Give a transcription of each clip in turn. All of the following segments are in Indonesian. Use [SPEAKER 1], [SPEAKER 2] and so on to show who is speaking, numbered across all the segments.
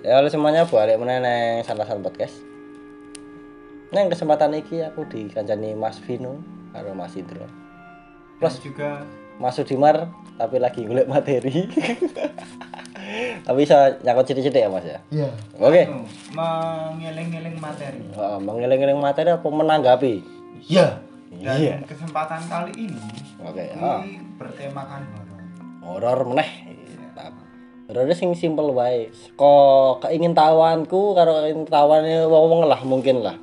[SPEAKER 1] Ya halo semuanya, balik meneh nang Santasan Podcast. Nang kesempatan iki aku dikancani Mas Vino karo Mas Indro. Plus
[SPEAKER 2] juga
[SPEAKER 1] Mas Sudimar tapi lagi golek materi. Tapi bisa nyakut sithik-sithik ya Mas ya.
[SPEAKER 2] iya.
[SPEAKER 1] Oke.
[SPEAKER 2] Mengeling-eling materi.
[SPEAKER 1] Mengeling-eling materi apa menanggapi?
[SPEAKER 2] Iya. Dan
[SPEAKER 1] Iya.
[SPEAKER 2] kesempatan kali ini
[SPEAKER 1] Oke.
[SPEAKER 2] ini bertemakan horor.
[SPEAKER 1] Horor meneh. Horornya sing simpel wae. Kok keingintahuanku karo keingintahuane wong-wong lah mungkin lah.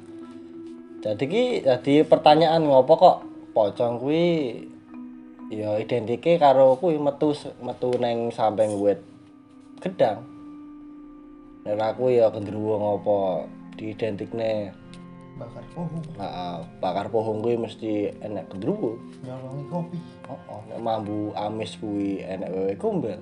[SPEAKER 1] Jadi pertanyaan ngopo kok pocong kuwi ya identike karo kuwi metu neng samping wit gedang. Nek aku ya gendruwo ngopo diidentikne
[SPEAKER 2] Bakar pohon.
[SPEAKER 1] bakar pohon kuwi mesti enek gendruwo.
[SPEAKER 2] Nyolongi kopi.
[SPEAKER 1] Heeh, nek mambu amis kuwi enek wewe gombel.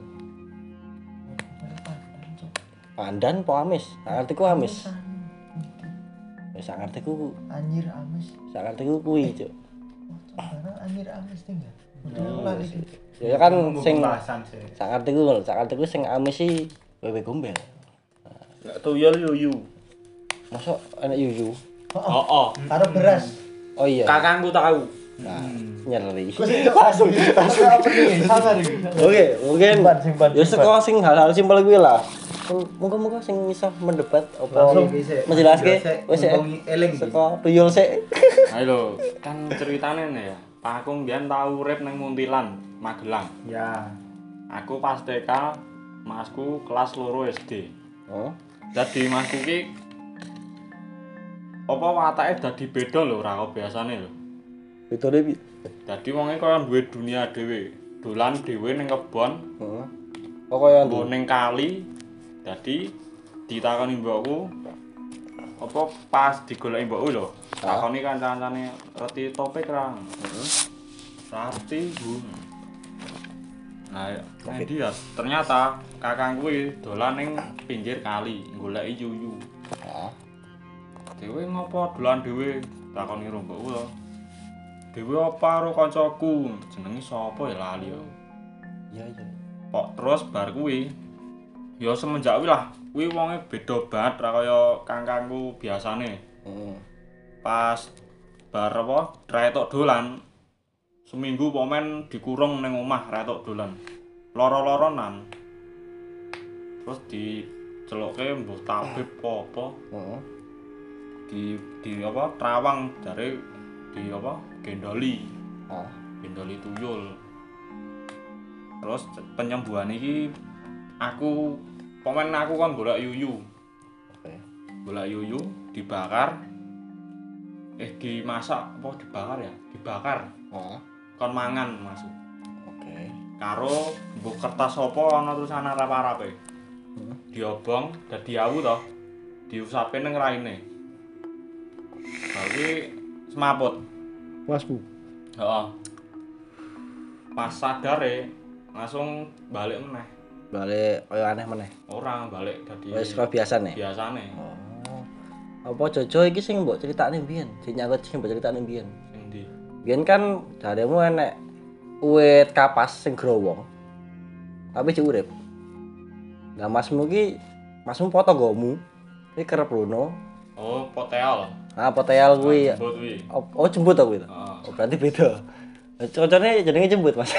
[SPEAKER 1] Pandan po amis? Sak ngertiku amis. Wis sak ngertiku
[SPEAKER 2] Anjir amis.
[SPEAKER 1] sak ngertiku kuwi, Cuk.
[SPEAKER 2] Karena anjir amis tinggal.
[SPEAKER 1] Ya kan sing
[SPEAKER 2] pembahasan sih.
[SPEAKER 1] sak ngertiku sing amis sih wewe gombel.
[SPEAKER 3] Enggak tuyul yuyu.
[SPEAKER 1] Mosok enek yuyu.
[SPEAKER 3] Oh.
[SPEAKER 2] Karo beras.
[SPEAKER 1] Oh iya.
[SPEAKER 3] Kakangku tahu.
[SPEAKER 1] Nah, nyeri.
[SPEAKER 2] Langsung apa nih? Sangar iki.
[SPEAKER 1] Oke, mungkin
[SPEAKER 2] Simpan.
[SPEAKER 1] ya saka sing hal-hal simpel kuwi lah. Muga-muga sing iso mendebat apa
[SPEAKER 2] Langsung
[SPEAKER 1] menjelaske wis
[SPEAKER 2] eling.
[SPEAKER 1] saka tuyul sik.
[SPEAKER 3] Ayo kan ceritane nih ya. Pak aku mbiyen tau urip ning Muntilan, Magelang.
[SPEAKER 2] Ya.
[SPEAKER 3] Aku pas TK, masku kelas 2 SD.
[SPEAKER 1] Oh.
[SPEAKER 3] Dadi masku ki apa watake dadi beda lho ora kaya biasane lho.
[SPEAKER 1] Pitone piye?
[SPEAKER 3] Dadi wonge kaya duwe dunia dhewe. Dolan dhewe ning kebon,
[SPEAKER 1] Heeh. Oh kaya
[SPEAKER 3] nggo ning kali. Dadi ditakoni mbokku apa pas digoleki mbokku lho. Takoni kanca-kancane reti topik ra. Rati, Bu. Nah, endi ya? Ternyata kakang kuwi dolan ning pinggir kali goleki yuyu.
[SPEAKER 1] Heeh.
[SPEAKER 3] Dewe ngopo dolan dhewe? Takoni karo mbokku lho. Dewe apa karo kancaku? Jenenge sapa ya lali yo.
[SPEAKER 1] Iya.
[SPEAKER 3] Pok terus bar kuwi ya semenjak kuwi lah, kuwi wonge beda banget ra kaya kangkangku biasane.
[SPEAKER 1] Heeh.
[SPEAKER 3] Pas bar apa retok dolan seminggu pomen dikurung ning omah retok dolan. Loro-loronan. Terus diceluke mbuh tabib apa?
[SPEAKER 1] Heeh.
[SPEAKER 3] Di apa trawang jare di apa gendoli.
[SPEAKER 1] Ah.
[SPEAKER 3] Gendoli tuyul. Terus penyembuhan iki aku pomen aku kan golek yuyu.
[SPEAKER 1] Oke.
[SPEAKER 3] Golek yuyu dibakar dimasak apa dibakar ya? Dibakar.
[SPEAKER 1] Heeh.
[SPEAKER 3] Kon mangan masuk.
[SPEAKER 1] Oke.
[SPEAKER 3] Karo mbok kertas apa ana tulisan arep-arepe. Diobong dadi awu to. Diusape ning raine. Tapi semaput.
[SPEAKER 1] Masmu.
[SPEAKER 3] Heeh. Pas sadare langsung balik meneh.
[SPEAKER 1] Balik kaya aneh meneh.
[SPEAKER 3] Orang balik dadi
[SPEAKER 1] Wis kaya biasane.
[SPEAKER 3] biasane.
[SPEAKER 1] Oh. Apa Jojo iki sing mbok critakne mbiyen? Sing nyangkut sing mbok critakne mbiyen.
[SPEAKER 3] Sing ndi?
[SPEAKER 1] Biyen kan jaremu enek uwit kapas sing growong. Tapi cek urip. Lah masmu foto gomu. Iki kerep rono.
[SPEAKER 3] Oh, poteal.
[SPEAKER 1] Ah poteal kuwi.
[SPEAKER 3] Jembut kuwi.
[SPEAKER 1] Oh jembut to kuwi to.
[SPEAKER 3] Heeh.
[SPEAKER 1] Oh berarti beda. Cocone jenenge jembut, Mas.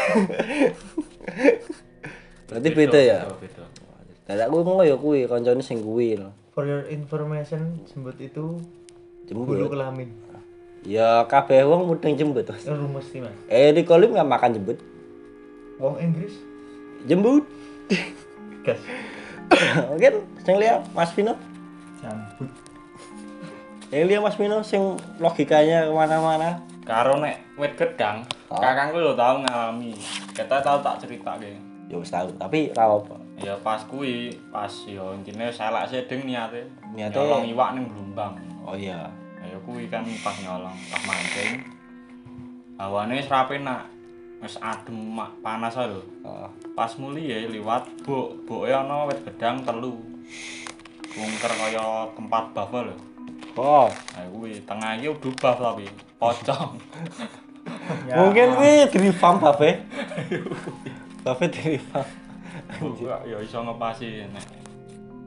[SPEAKER 1] Berarti beda ya.
[SPEAKER 3] Beda.
[SPEAKER 1] Lah aku ngono ya kuwi kancane sing kuwi lho.
[SPEAKER 2] For your information, jembut itu bulu
[SPEAKER 1] Jembut.
[SPEAKER 2] kelamin.
[SPEAKER 1] Ya kabeh wong mudeng jembut, Mas.
[SPEAKER 2] Itu rumus sih, Mas.
[SPEAKER 1] Di kolim enggak makan jembut.
[SPEAKER 2] Wong Inggris.
[SPEAKER 1] Jembut.
[SPEAKER 2] Gas.
[SPEAKER 1] Mungkin sing liya Mas Vino.
[SPEAKER 2] Jambut.
[SPEAKER 1] Yang liya Mas Vino sing logikanya kemana-mana.
[SPEAKER 3] Karo nek wit gedang,
[SPEAKER 1] Oh.
[SPEAKER 3] kakangku lho tau ngalami. Kita tau tak ceritake.
[SPEAKER 1] Ya wis tahu, tapi ra apa.
[SPEAKER 3] Ya pas kuwi, pas ya intine selak sedeng niate.
[SPEAKER 1] Niate-
[SPEAKER 3] Nyolong iwak ning Blumbang.
[SPEAKER 1] Oh iya.
[SPEAKER 3] Ya kuwi kan pas nyolong, pas mancing. Hawane wis ra penak. Wis adem panas ae lho.
[SPEAKER 1] Heeh.
[SPEAKER 3] Pas muli ya liwat boke ana wit gedang telu. Wungker kaya tempat buff lho.
[SPEAKER 1] Oh,
[SPEAKER 3] Nah kuwi tengah iki udah buff tapi pocong.
[SPEAKER 2] Ya.
[SPEAKER 1] mungkin kuwi di-revamp Babe. Babe di-revamp.
[SPEAKER 3] Ya iso ngepasi nek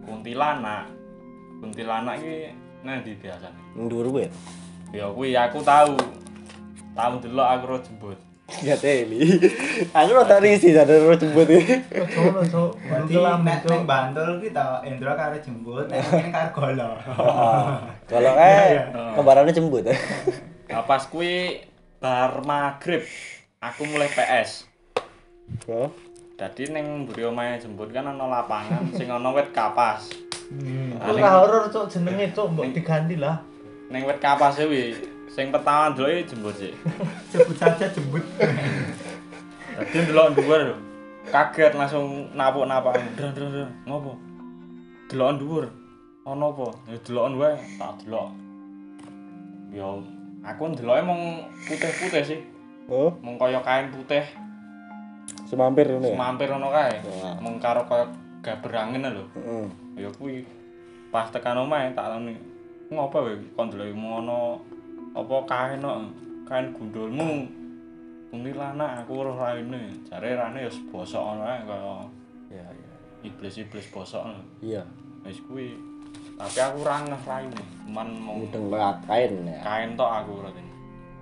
[SPEAKER 3] kuntilanak. Kuntilanak iki nang ndi biasane?
[SPEAKER 1] Ndur wit.
[SPEAKER 3] Ya kuwi aku tahu. Tahu delok aku ro jembut.
[SPEAKER 1] Ya teli. Aku rada risi sadar ro jembut iki.
[SPEAKER 2] Solo cok.
[SPEAKER 4] Berarti nek Bantul ki ta Endro karo jembut, nek kene karo golo.
[SPEAKER 1] Kalau kembarannya jembut.
[SPEAKER 3] Nah, pas kuwi bar magrib aku mulai PS.
[SPEAKER 1] Oh.
[SPEAKER 3] Dadi ning mburi omahe jembut kan ana lapangan sing ana wit kapas.
[SPEAKER 2] Ora horor cok jenenge cok mbok diganti lah.
[SPEAKER 3] Ning wit kapas kuwi sing pertama ndeloke jembut sih.
[SPEAKER 4] Sebut saja jembut.
[SPEAKER 3] Dadi ndelok dhuwur lho. Kaget langsung napuk-napuk. Dr. Ngopo? Deloken dhuwur. Ana apa? Ya deloken wae, tak delok. Ya aku ndeloke mung putih-putih sih.
[SPEAKER 1] Oh,
[SPEAKER 3] Mung kaya kain putih.
[SPEAKER 1] semampir ngono ya.
[SPEAKER 3] Semampir ngono kae.
[SPEAKER 1] Wah.
[SPEAKER 3] Mung karo kaya gaber angin lho.
[SPEAKER 1] Heeh.
[SPEAKER 3] Ya kuwi pas tekan omahe tak takoni. Ngopo wae kon ndelok ngono apa kain kok kain gundulmu kuntilanak aku ora raine jare rane ya bosok ngono ae kaya
[SPEAKER 1] Ya, ya.
[SPEAKER 3] iblis-iblis bosok
[SPEAKER 1] Iya.
[SPEAKER 3] wis kuwi tapi aku ora ngeh raine cuman mung
[SPEAKER 1] Mudeng lewat kain ya.
[SPEAKER 3] kain tok aku ora teni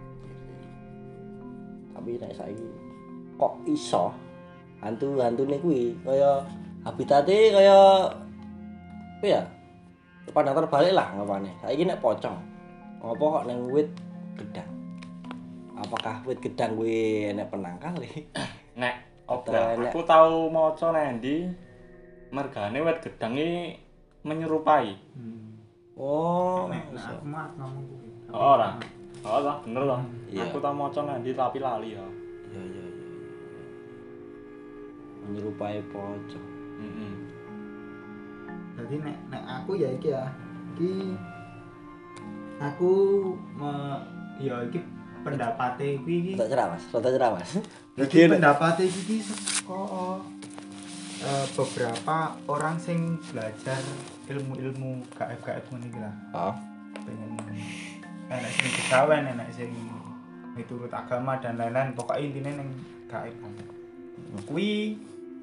[SPEAKER 1] Tapi nek saiki kok iso hantu-hantune kuwi kaya habitate kaya apa ya? Pandang terbalik lah ngapane. Saiki nek pocong. Ngopo kok nang wit gedang? Apakah wit gedang kuwi enek penangkale?
[SPEAKER 3] nek
[SPEAKER 1] Atau
[SPEAKER 3] opo
[SPEAKER 1] enek-
[SPEAKER 3] aku tau maca nang ndi mergane wit gedang iki menyerupai
[SPEAKER 1] Oh,
[SPEAKER 4] Nek
[SPEAKER 1] iso.
[SPEAKER 4] aku mah ngomong kuwi.
[SPEAKER 3] ora ora bener toh
[SPEAKER 1] Iya.
[SPEAKER 3] aku tau maca nang ndi tapi lali ya
[SPEAKER 1] Iya, iya, iya. Menyerupai pocong.
[SPEAKER 3] heeh
[SPEAKER 4] Jadi nek aku ya iki ya. Iki aku ya iki pendapate kuwi iki.
[SPEAKER 1] Rada cerah, Mas. Rada cerah, Mas.
[SPEAKER 4] Jadi pendapate iki saka beberapa orang sing belajar ilmu-ilmu gaib-gaib ngono iki lah.
[SPEAKER 1] Oh.
[SPEAKER 4] Pengen enek sing kegawen, enek sing miturut agama dan lain-lain. Pokoknya intinya neng gaib. Kuwi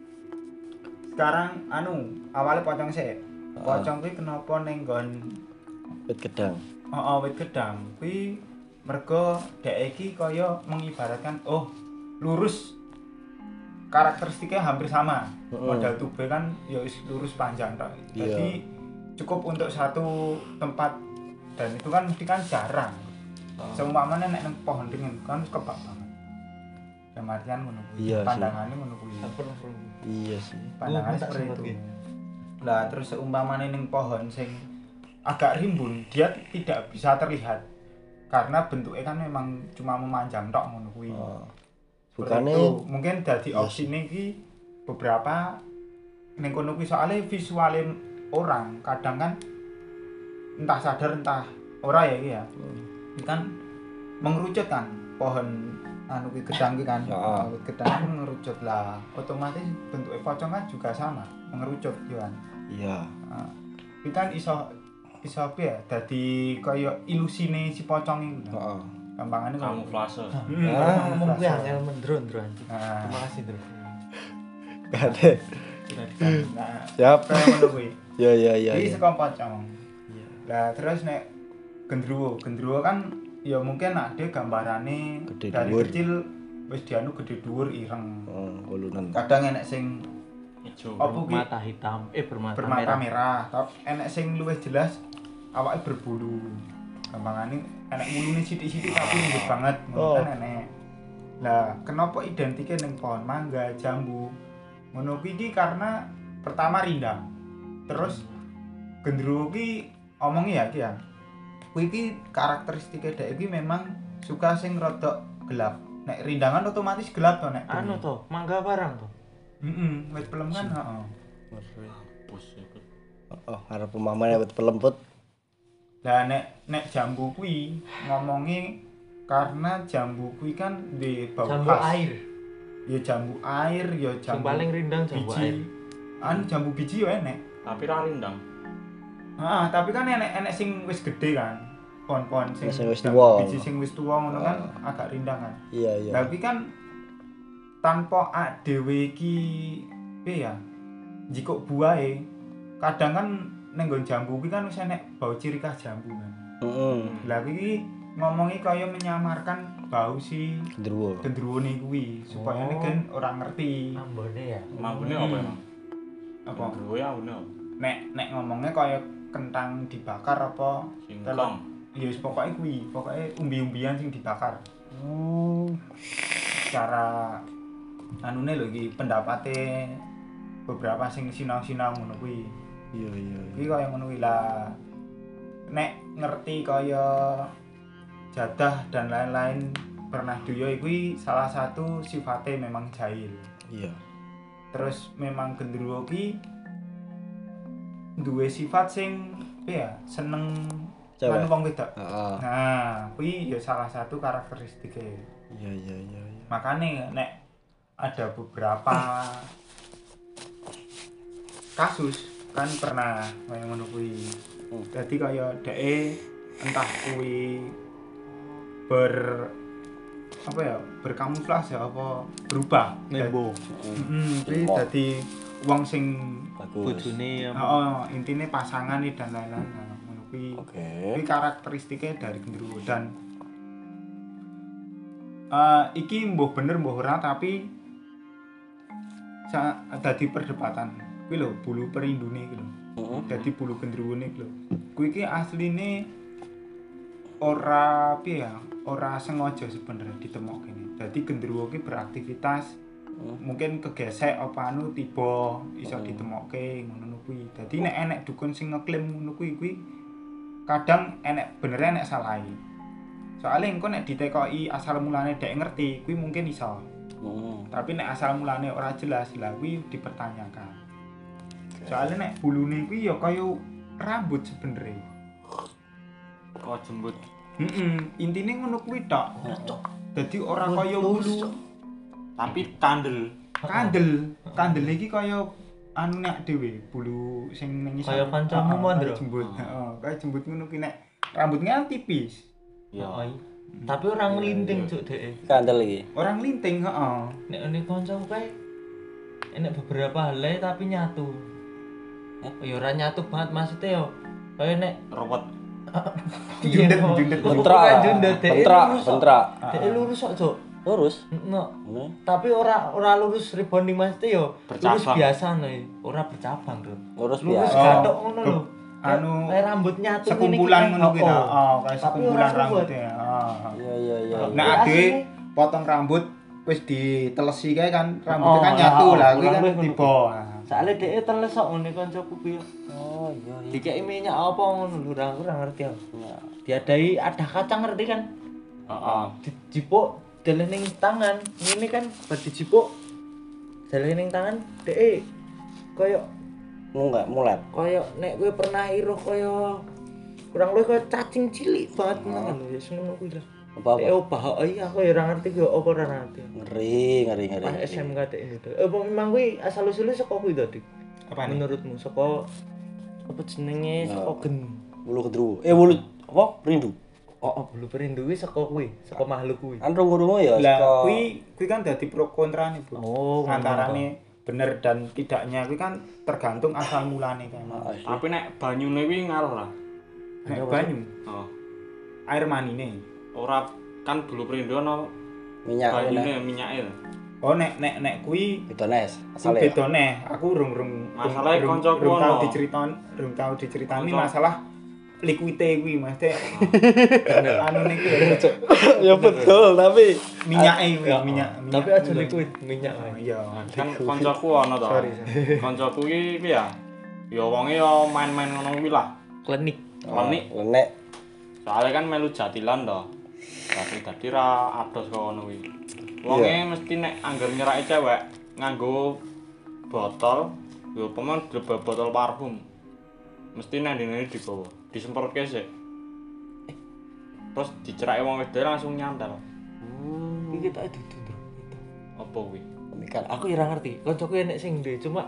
[SPEAKER 4] sekarang awalnya pocong sih. Pocong kuwi kenapa ning nggon
[SPEAKER 1] Wit gedang.
[SPEAKER 4] wit gedang. Kuwi mergo dhek iki kaya mengibaratkan lurus karakteristiknya hampir sama. Model tube kan ya wis lurus panjang tok.
[SPEAKER 1] Iya.
[SPEAKER 4] Jadi cukup untuk satu tempat dan itu kan mesti kan jarang. Seumpamane nek nang pohon ringin kan wis kebak banget. Dalam artian ngono kuwi.
[SPEAKER 1] Iya sih.
[SPEAKER 4] Pandangannya ngono kuwi.
[SPEAKER 1] Iya sih.
[SPEAKER 4] Pandangan
[SPEAKER 2] tak
[SPEAKER 4] seperti
[SPEAKER 2] sempat
[SPEAKER 4] itu.
[SPEAKER 2] gitu.
[SPEAKER 4] Lah terus seumpamane ning pohon sing agak rimbun, dia tidak bisa terlihat. Karena bentuknya kan memang cuma memanjang tok ngono kuwi.
[SPEAKER 1] Oh.
[SPEAKER 4] Seperti
[SPEAKER 1] Bukane
[SPEAKER 4] itu. Mungkin dadi
[SPEAKER 1] Iya
[SPEAKER 4] opsine iki beberapa ning kono kuwi soalnya visuale orang kadang kan entah sadar entah ora ya iki ya. Ini kan mengerucut kan pohon kuwi gedang kuwi kan.
[SPEAKER 1] Ya.
[SPEAKER 4] Gedang kan mengerucut lah. Otomatis bentuknya pocong kan juga sama, mengerucut yo kan.
[SPEAKER 1] iya.
[SPEAKER 4] Itu kan iso apa ya? Dadi kaya ilusine si pocong iku.
[SPEAKER 1] Heeh.
[SPEAKER 4] Gampangane
[SPEAKER 3] kamuflase
[SPEAKER 2] Ngomong kuwi angel mendron, Bro.
[SPEAKER 4] Nah,
[SPEAKER 2] Terima kasih, Bro.
[SPEAKER 1] Gade.
[SPEAKER 4] nah,
[SPEAKER 1] Siap.
[SPEAKER 4] kaya ngono kuwi.
[SPEAKER 1] Ya, ya, ya.
[SPEAKER 4] Iki
[SPEAKER 1] ya.
[SPEAKER 4] saka pocong.
[SPEAKER 1] Iya.
[SPEAKER 4] Lah terus nek gendruwo kan ya mungkin ada gambarane
[SPEAKER 1] Gede
[SPEAKER 4] dari
[SPEAKER 1] dhuwur.
[SPEAKER 4] kecil wis dianu gede dhuwur ireng.
[SPEAKER 1] Kulunan.
[SPEAKER 4] Kadang enek sing
[SPEAKER 3] ijo
[SPEAKER 4] apa ki
[SPEAKER 2] Mata hitam, bermata
[SPEAKER 4] bermata
[SPEAKER 2] merah.
[SPEAKER 4] merah, tapi enek sing luwih jelas awake berbulu. Gampangane enek mulune sithik-sithik tapi lembut banget, ngono kan enek. Lah, kenapa identike ning pohon mangga, jambu? Ngono kuwi iki karena pertama rindang. Terus gendruwo ki omongi ya ki ya. Kuwi iki karakteristike dhek iki memang suka sing rada gelap. Nek rindangan otomatis gelap to nek.
[SPEAKER 2] Anu to, mangga barang to.
[SPEAKER 4] wit pelem kan heeh.
[SPEAKER 3] bos iku
[SPEAKER 1] Oh, arep pemamane wit pelemput.
[SPEAKER 4] Lah nek jambu kuwi ngomongi karena jambu kuwi kan di bau
[SPEAKER 2] Jambu
[SPEAKER 4] khas.
[SPEAKER 2] air.
[SPEAKER 4] Ya jambu air, ya
[SPEAKER 2] Sing
[SPEAKER 4] jambu
[SPEAKER 2] paling rindang jambu
[SPEAKER 4] biji.
[SPEAKER 2] air.
[SPEAKER 4] Jambu biji ya enek.
[SPEAKER 3] tapi ra rindang
[SPEAKER 4] Tapi kan enek sing wis gede kan. Pohon-pohon sing
[SPEAKER 1] Sing wis
[SPEAKER 4] jambu
[SPEAKER 1] tuwa.
[SPEAKER 4] biji sing wis tuwa ngono kan agak rindang kan.
[SPEAKER 1] Iya, iya.
[SPEAKER 4] Tapi kan tanpa dhewe iki piye ya? Jikok buahe kadang kan ning nggon jambu kuwi kan wis enek bau ciri khas jambu kan. Lah iki ngomongi kaya menyamarkan bau si gendruwone kuwi supaya nek kan ora ngerti
[SPEAKER 2] ambone ya.
[SPEAKER 3] Mambune apa emang?
[SPEAKER 4] apa
[SPEAKER 3] Gendruwo ya ambune apa?
[SPEAKER 4] nek ngomongnya kaya kentang dibakar apa
[SPEAKER 3] Singkong.
[SPEAKER 4] ya wis pokoke kuwi pokoke umbi-umbian sing dibakar cara anune lho iki pendapate beberapa sing sinau-sinau ngono kuwi
[SPEAKER 1] Iya.
[SPEAKER 4] iki kaya ngono kuwi lah nek ngerti kaya jadah dan lain-lain pernah duyo kuwi salah satu sifatnya memang jahil.
[SPEAKER 1] Iya.
[SPEAKER 4] Terus memang gendruwo ki duwe sifat sing ya seneng
[SPEAKER 1] Cewek.
[SPEAKER 4] lan wong wedok.
[SPEAKER 1] Heeh.
[SPEAKER 4] Nah, kuwi ya salah satu karakteristike.
[SPEAKER 1] Iya.
[SPEAKER 4] Makane nek ada beberapa kasus kan pernah kaya ngono kuwi. Dadi kaya dheke entah kuwi berkamuflase apa berubah.
[SPEAKER 2] Nembo.
[SPEAKER 4] Kuwi dadi wong sing
[SPEAKER 1] Bagus.
[SPEAKER 2] Bojone
[SPEAKER 4] heeh, intine pasangan dan lain-lain. Nah, ngono kuwi.
[SPEAKER 1] Oke.
[SPEAKER 4] Kuwi karakteristiknya dari gendruwo dan iki mbuh bener mbuh ora tapi dadi perdebatan. Kuwi lho bulu perindune iki lho. Dadi bulu gendruwone iki lho. Kuwi iki asline ora piye ya, ora sengaja sebenarnya ditemokke. Dadi gendruwo iki beraktivitas mungkin kegesek apa anu tiba iso ditemokke ngono kuwi. Dadi nek enek dukun sing ngeklaim ngono kuwi kadang enek bener enek salahe. Soale engko nek ditekoki asal mulane dhek ngerti kuwi mungkin iso. Tapi nek asal mulane ora jelas lah kuwi dipertanyakan. Soale nek bulune kuwi ya kaya rambut sebenarnya.
[SPEAKER 3] Kok jembut.
[SPEAKER 4] Intine ngono kuwi tok. Dadi ora kaya bulu.
[SPEAKER 3] Tapi kandel.
[SPEAKER 4] Kandel iki kaya anu nek dhewe bulu sing ning
[SPEAKER 2] Kaya kancamu Mandra.
[SPEAKER 4] Jembut. Heeh, kaya jembut ngono kuwi nek rambutnya kan tipis.
[SPEAKER 3] Ya.
[SPEAKER 2] Tapi orang linting cuk dhek.
[SPEAKER 1] Kandel iki.
[SPEAKER 4] Orang linting, heeh.
[SPEAKER 2] Nek ngene kancaku kae enek beberapa hal tapi nyatu. Ya ora nyatu banget maksudnya yo. Kaya nek
[SPEAKER 3] Robot.
[SPEAKER 4] Jundet.
[SPEAKER 1] Bentra.
[SPEAKER 2] Dhek lurus kok cuk.
[SPEAKER 1] Lurus.
[SPEAKER 2] No. Tapi ora lurus rebonding maksudnya yo. Lurus
[SPEAKER 3] Bercabang.
[SPEAKER 2] biasa nih, ora bercabang, Bro.
[SPEAKER 1] Lurus
[SPEAKER 2] Lurus
[SPEAKER 1] biasa.
[SPEAKER 2] gathok ngono lho.
[SPEAKER 4] Anu
[SPEAKER 2] kayak rambut nyatu
[SPEAKER 4] sekumpulan ngono kuwi ta. Oh, kayak
[SPEAKER 2] Tapi
[SPEAKER 4] sekumpulan
[SPEAKER 2] ora ruwet.
[SPEAKER 4] rambutnya. Heeh.
[SPEAKER 1] Iya.
[SPEAKER 4] Nah,
[SPEAKER 2] Asli.
[SPEAKER 4] dhewe potong rambut wis ditelesi kae kan rambutnya kan nyatu lah kuwi kan tiba.
[SPEAKER 2] Soale dhek teles kok ngene kancaku kuwi.
[SPEAKER 1] Oh, iya.
[SPEAKER 2] Dikeki minyak apa ngono lho, ora ngerti aku. Diadai ada kacang ngerti kan?
[SPEAKER 3] Heeh.
[SPEAKER 2] Dijipuk dalan ning tangan. Ngene kan bar dijipuk dalan ning tangan dhek koyo
[SPEAKER 1] Mulet.
[SPEAKER 2] koyo nek kowe pernah iruh koyo kurang luwih koyo cacing cilik banget ngono lho, ya ngono kuwi lah.
[SPEAKER 1] Apa?
[SPEAKER 2] Obah iya aku ya ora ngerti kok apa ora ngerti.
[SPEAKER 1] Ngeri.
[SPEAKER 2] Pas SMK dhek itu. Apa memang kuwi asal usule saka kuwi to, Dik?
[SPEAKER 4] Apa nih?
[SPEAKER 2] Menurutmu saka apa jenenge saka gen
[SPEAKER 1] Bulu kedruwo. Bulu apa? Rindu.
[SPEAKER 2] oh bulu perindu kuwi saka kuwi, saka makhluk kuwi.
[SPEAKER 1] Kan rungu-rungu ya
[SPEAKER 4] Lah
[SPEAKER 1] saka
[SPEAKER 4] kuwi kan dadi pro kontra nih, Bu.
[SPEAKER 2] Oh,
[SPEAKER 4] Antarane bener dan tidaknya kuwi kan tergantung asal mulane kan.
[SPEAKER 3] Tapi nek banyune kuwi ngaruh lah.
[SPEAKER 4] Nek banyu,
[SPEAKER 3] Oh.
[SPEAKER 4] air manine.
[SPEAKER 3] Ora kan bulu perindo ana
[SPEAKER 1] minyak
[SPEAKER 3] banyune minyake.
[SPEAKER 4] Oh nek kuwi
[SPEAKER 1] betones
[SPEAKER 4] kuwi
[SPEAKER 1] asale.
[SPEAKER 4] beda neh. Aku rung
[SPEAKER 3] Masalahnya koncoku
[SPEAKER 4] rung tau
[SPEAKER 3] ono.
[SPEAKER 4] diceritani
[SPEAKER 3] Konco.
[SPEAKER 4] masalah liquide kuwi Mas. Anu niku
[SPEAKER 1] Ya betul, tapi
[SPEAKER 4] minyake kuwi, minyak.
[SPEAKER 2] Tapi aja liquid minyak wae.
[SPEAKER 4] Iya.
[SPEAKER 3] Kan koncoku ana to.
[SPEAKER 4] Sorry.
[SPEAKER 3] Koncoku iki piye ya? Ya wonge ya main-main ngono kuwi lah.
[SPEAKER 2] Klinik.
[SPEAKER 3] Klenik.
[SPEAKER 1] lenek.
[SPEAKER 3] Soalnya kan melu jatilan to. Tapi dadi ra ados kok ngono kuwi. Wonge mesti nek anggar nyerake cewek nganggo botol, yo pemen botol parfum. Mesti nang dene digawa, disemprotke sik. Terus dicerake wong wedok langsung nyantel.
[SPEAKER 2] Iki tak dudu, Bro.
[SPEAKER 3] Apa kuwi?
[SPEAKER 1] Mikir
[SPEAKER 2] Aku ya ora ngerti. Kancaku enek sing duwe, cuma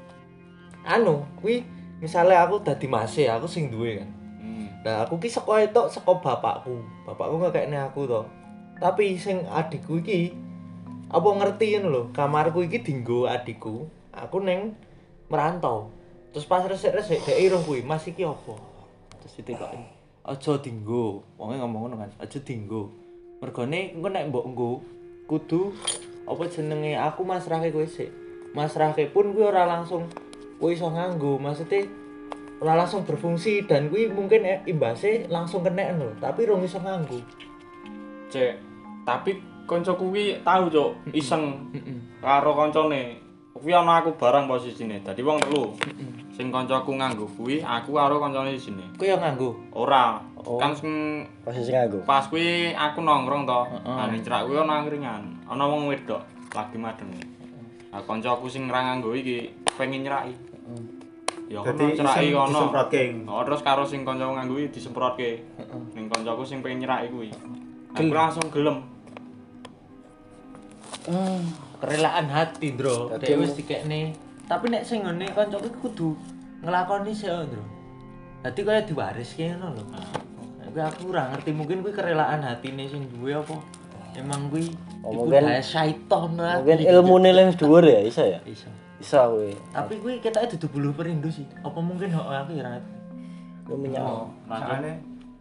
[SPEAKER 2] anu, kuwi misale aku dadi mase, aku sing duwe kan. Nah, aku ki saka etok saka bapakku. Bapakku ngekekne aku to. Tapi sing adikku iki apa ngerti ngono lho, kamarku iki dienggo adikku. Aku ning merantau. Terus pas resik-resik dhek iruh kuwi, "Mas iki apa?" Terus ditekoki. "Aja dienggo." Wonge ngomong ngono kan, "Aja dienggo." Mergone engko nek mbok nggo kudu apa jenenge aku masrahke kowe sik. Masrahke pun kuwi ora langsung kowe iso nganggo, maksudnya ora langsung berfungsi dan kuwi mungkin imbase langsung kena lho, tapi rong iso nganggo.
[SPEAKER 3] Cek, tapi koncoku kuwi tahu cuk iseng karo koncone. Kuwi ana aku barang posisine. Dadi wong telu. Sing koncoku nganggo kuwi aku karo koncone di sini.
[SPEAKER 2] Kowe yo nganggo.
[SPEAKER 3] Ora.
[SPEAKER 2] Oh.
[SPEAKER 3] Kan sing
[SPEAKER 1] posisi nganggo.
[SPEAKER 3] pas kuwi aku nongkrong to. Nah ning cerak kuwi ana angkringan. Ana wong wedok lagi madeng. Nah koncoku sing ra nganggo iki pengen nyeraki. Ya kono ceraki kono.
[SPEAKER 4] Disemprotke.
[SPEAKER 3] Oh terus karo sing koncoku nganggo iki disemprotke. Ning koncoku sing pengen nyeraki kuwi. Aku langsung gelem.
[SPEAKER 2] Kerelaan hati, Ndro. Dhewe wis dikekne. Tapi nek sing ngene kancaku kudu nglakoni sik, Ndro. Dadi kaya diwariske ngono lho. Kuwi aku ora ngerti, mungkin kuwi kerelaan hatine sing duwe apa. Emang kuwi
[SPEAKER 1] mungkin
[SPEAKER 2] syaiton lah.
[SPEAKER 1] Mungkin ilmune luwih dhuwur ya, iso ya?
[SPEAKER 2] Iso.
[SPEAKER 1] Iso kuwi.
[SPEAKER 2] Tapi kuwi ketoke dudu bulu perindu sih. Apa mungkin aku ya ora ngerti.
[SPEAKER 1] Kuwi minyak.
[SPEAKER 4] Soalnya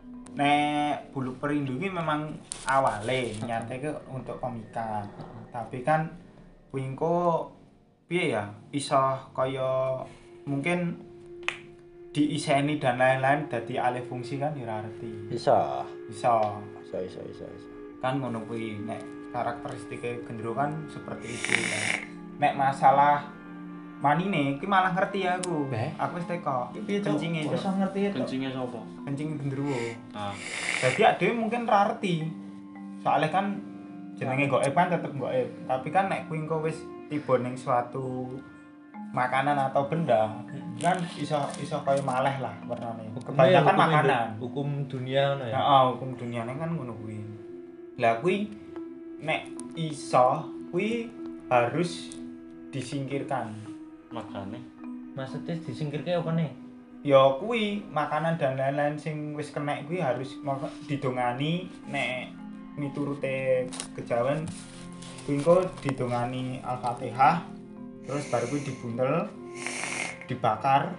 [SPEAKER 4] nek bulu perindu ini memang awale nyateke untuk komika. Tapi kan wingko piye ya iso kaya mungkin diiseni dan lain-lain dadi alih fungsi kan ya ora ngerti.
[SPEAKER 1] Bisa.
[SPEAKER 4] Iso.
[SPEAKER 1] Bisa.
[SPEAKER 4] Kan ngono kuwi nek karakteristike gendero kan seperti itu kan. Nek masalah manine iki malah ngerti aku. Aku wis teko.
[SPEAKER 2] Piye cok?
[SPEAKER 4] Kencinge
[SPEAKER 2] Iso ngerti to.
[SPEAKER 3] Kencinge sapa?
[SPEAKER 4] kencing gendero.
[SPEAKER 3] Ah.
[SPEAKER 4] Jadi ade mungkin ra ngerti. Soalnya kan jenenge goib kan tetep goib. Tapi kan nek kuwi engko wis tiba ning suatu makanan atau benda kan iso kaya maleh lah warnane. Kebanyakan makanan.
[SPEAKER 2] Hukum dunia ngono ya.
[SPEAKER 4] Heeh, hukum duniane kan ngono kuwi. Lah kuwi nek iso kuwi harus disingkirkan.
[SPEAKER 3] Makane
[SPEAKER 2] Maksudnya disingkirke apa nih?
[SPEAKER 4] Ya kuwi makanan dan lain-lain sing wis kena kuwi harus didongani nek miturute kejawen kuwi engko didongani Al-Fatihah terus baru kuwi dibuntel dibakar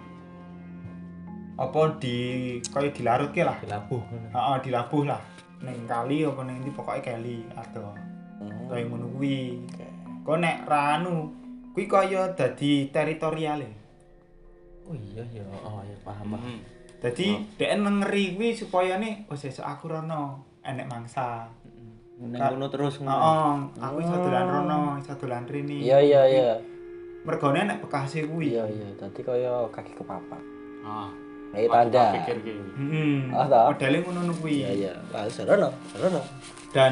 [SPEAKER 4] apa kaya dilarutke lah
[SPEAKER 2] Dilabuh ngono.
[SPEAKER 4] heeh dilabuh lah ning kali apa ning ndi pokoke kali ado kaya ngono kuwi kok nek ra anu kuwi kaya dadi teritoriale.
[SPEAKER 2] Oh iya ya, oh ya paham.
[SPEAKER 4] Dadi dhek ngeri kuwi supaya nih sesuk aku rono enek mangsa.
[SPEAKER 2] Ning ngono terus ngono.
[SPEAKER 4] Heeh, aku iso dolan rono, iso dolan rene.
[SPEAKER 1] Iya.
[SPEAKER 4] Mergone enek bekase kuwi.
[SPEAKER 1] Iya. Dadi kaya kaki kepapat.
[SPEAKER 3] ah
[SPEAKER 1] Kayak tanda.
[SPEAKER 3] pikir ki
[SPEAKER 4] Heeh.
[SPEAKER 1] Ta?
[SPEAKER 4] Modele ngono kuwi.
[SPEAKER 1] Iya. Lah serono.
[SPEAKER 4] Dan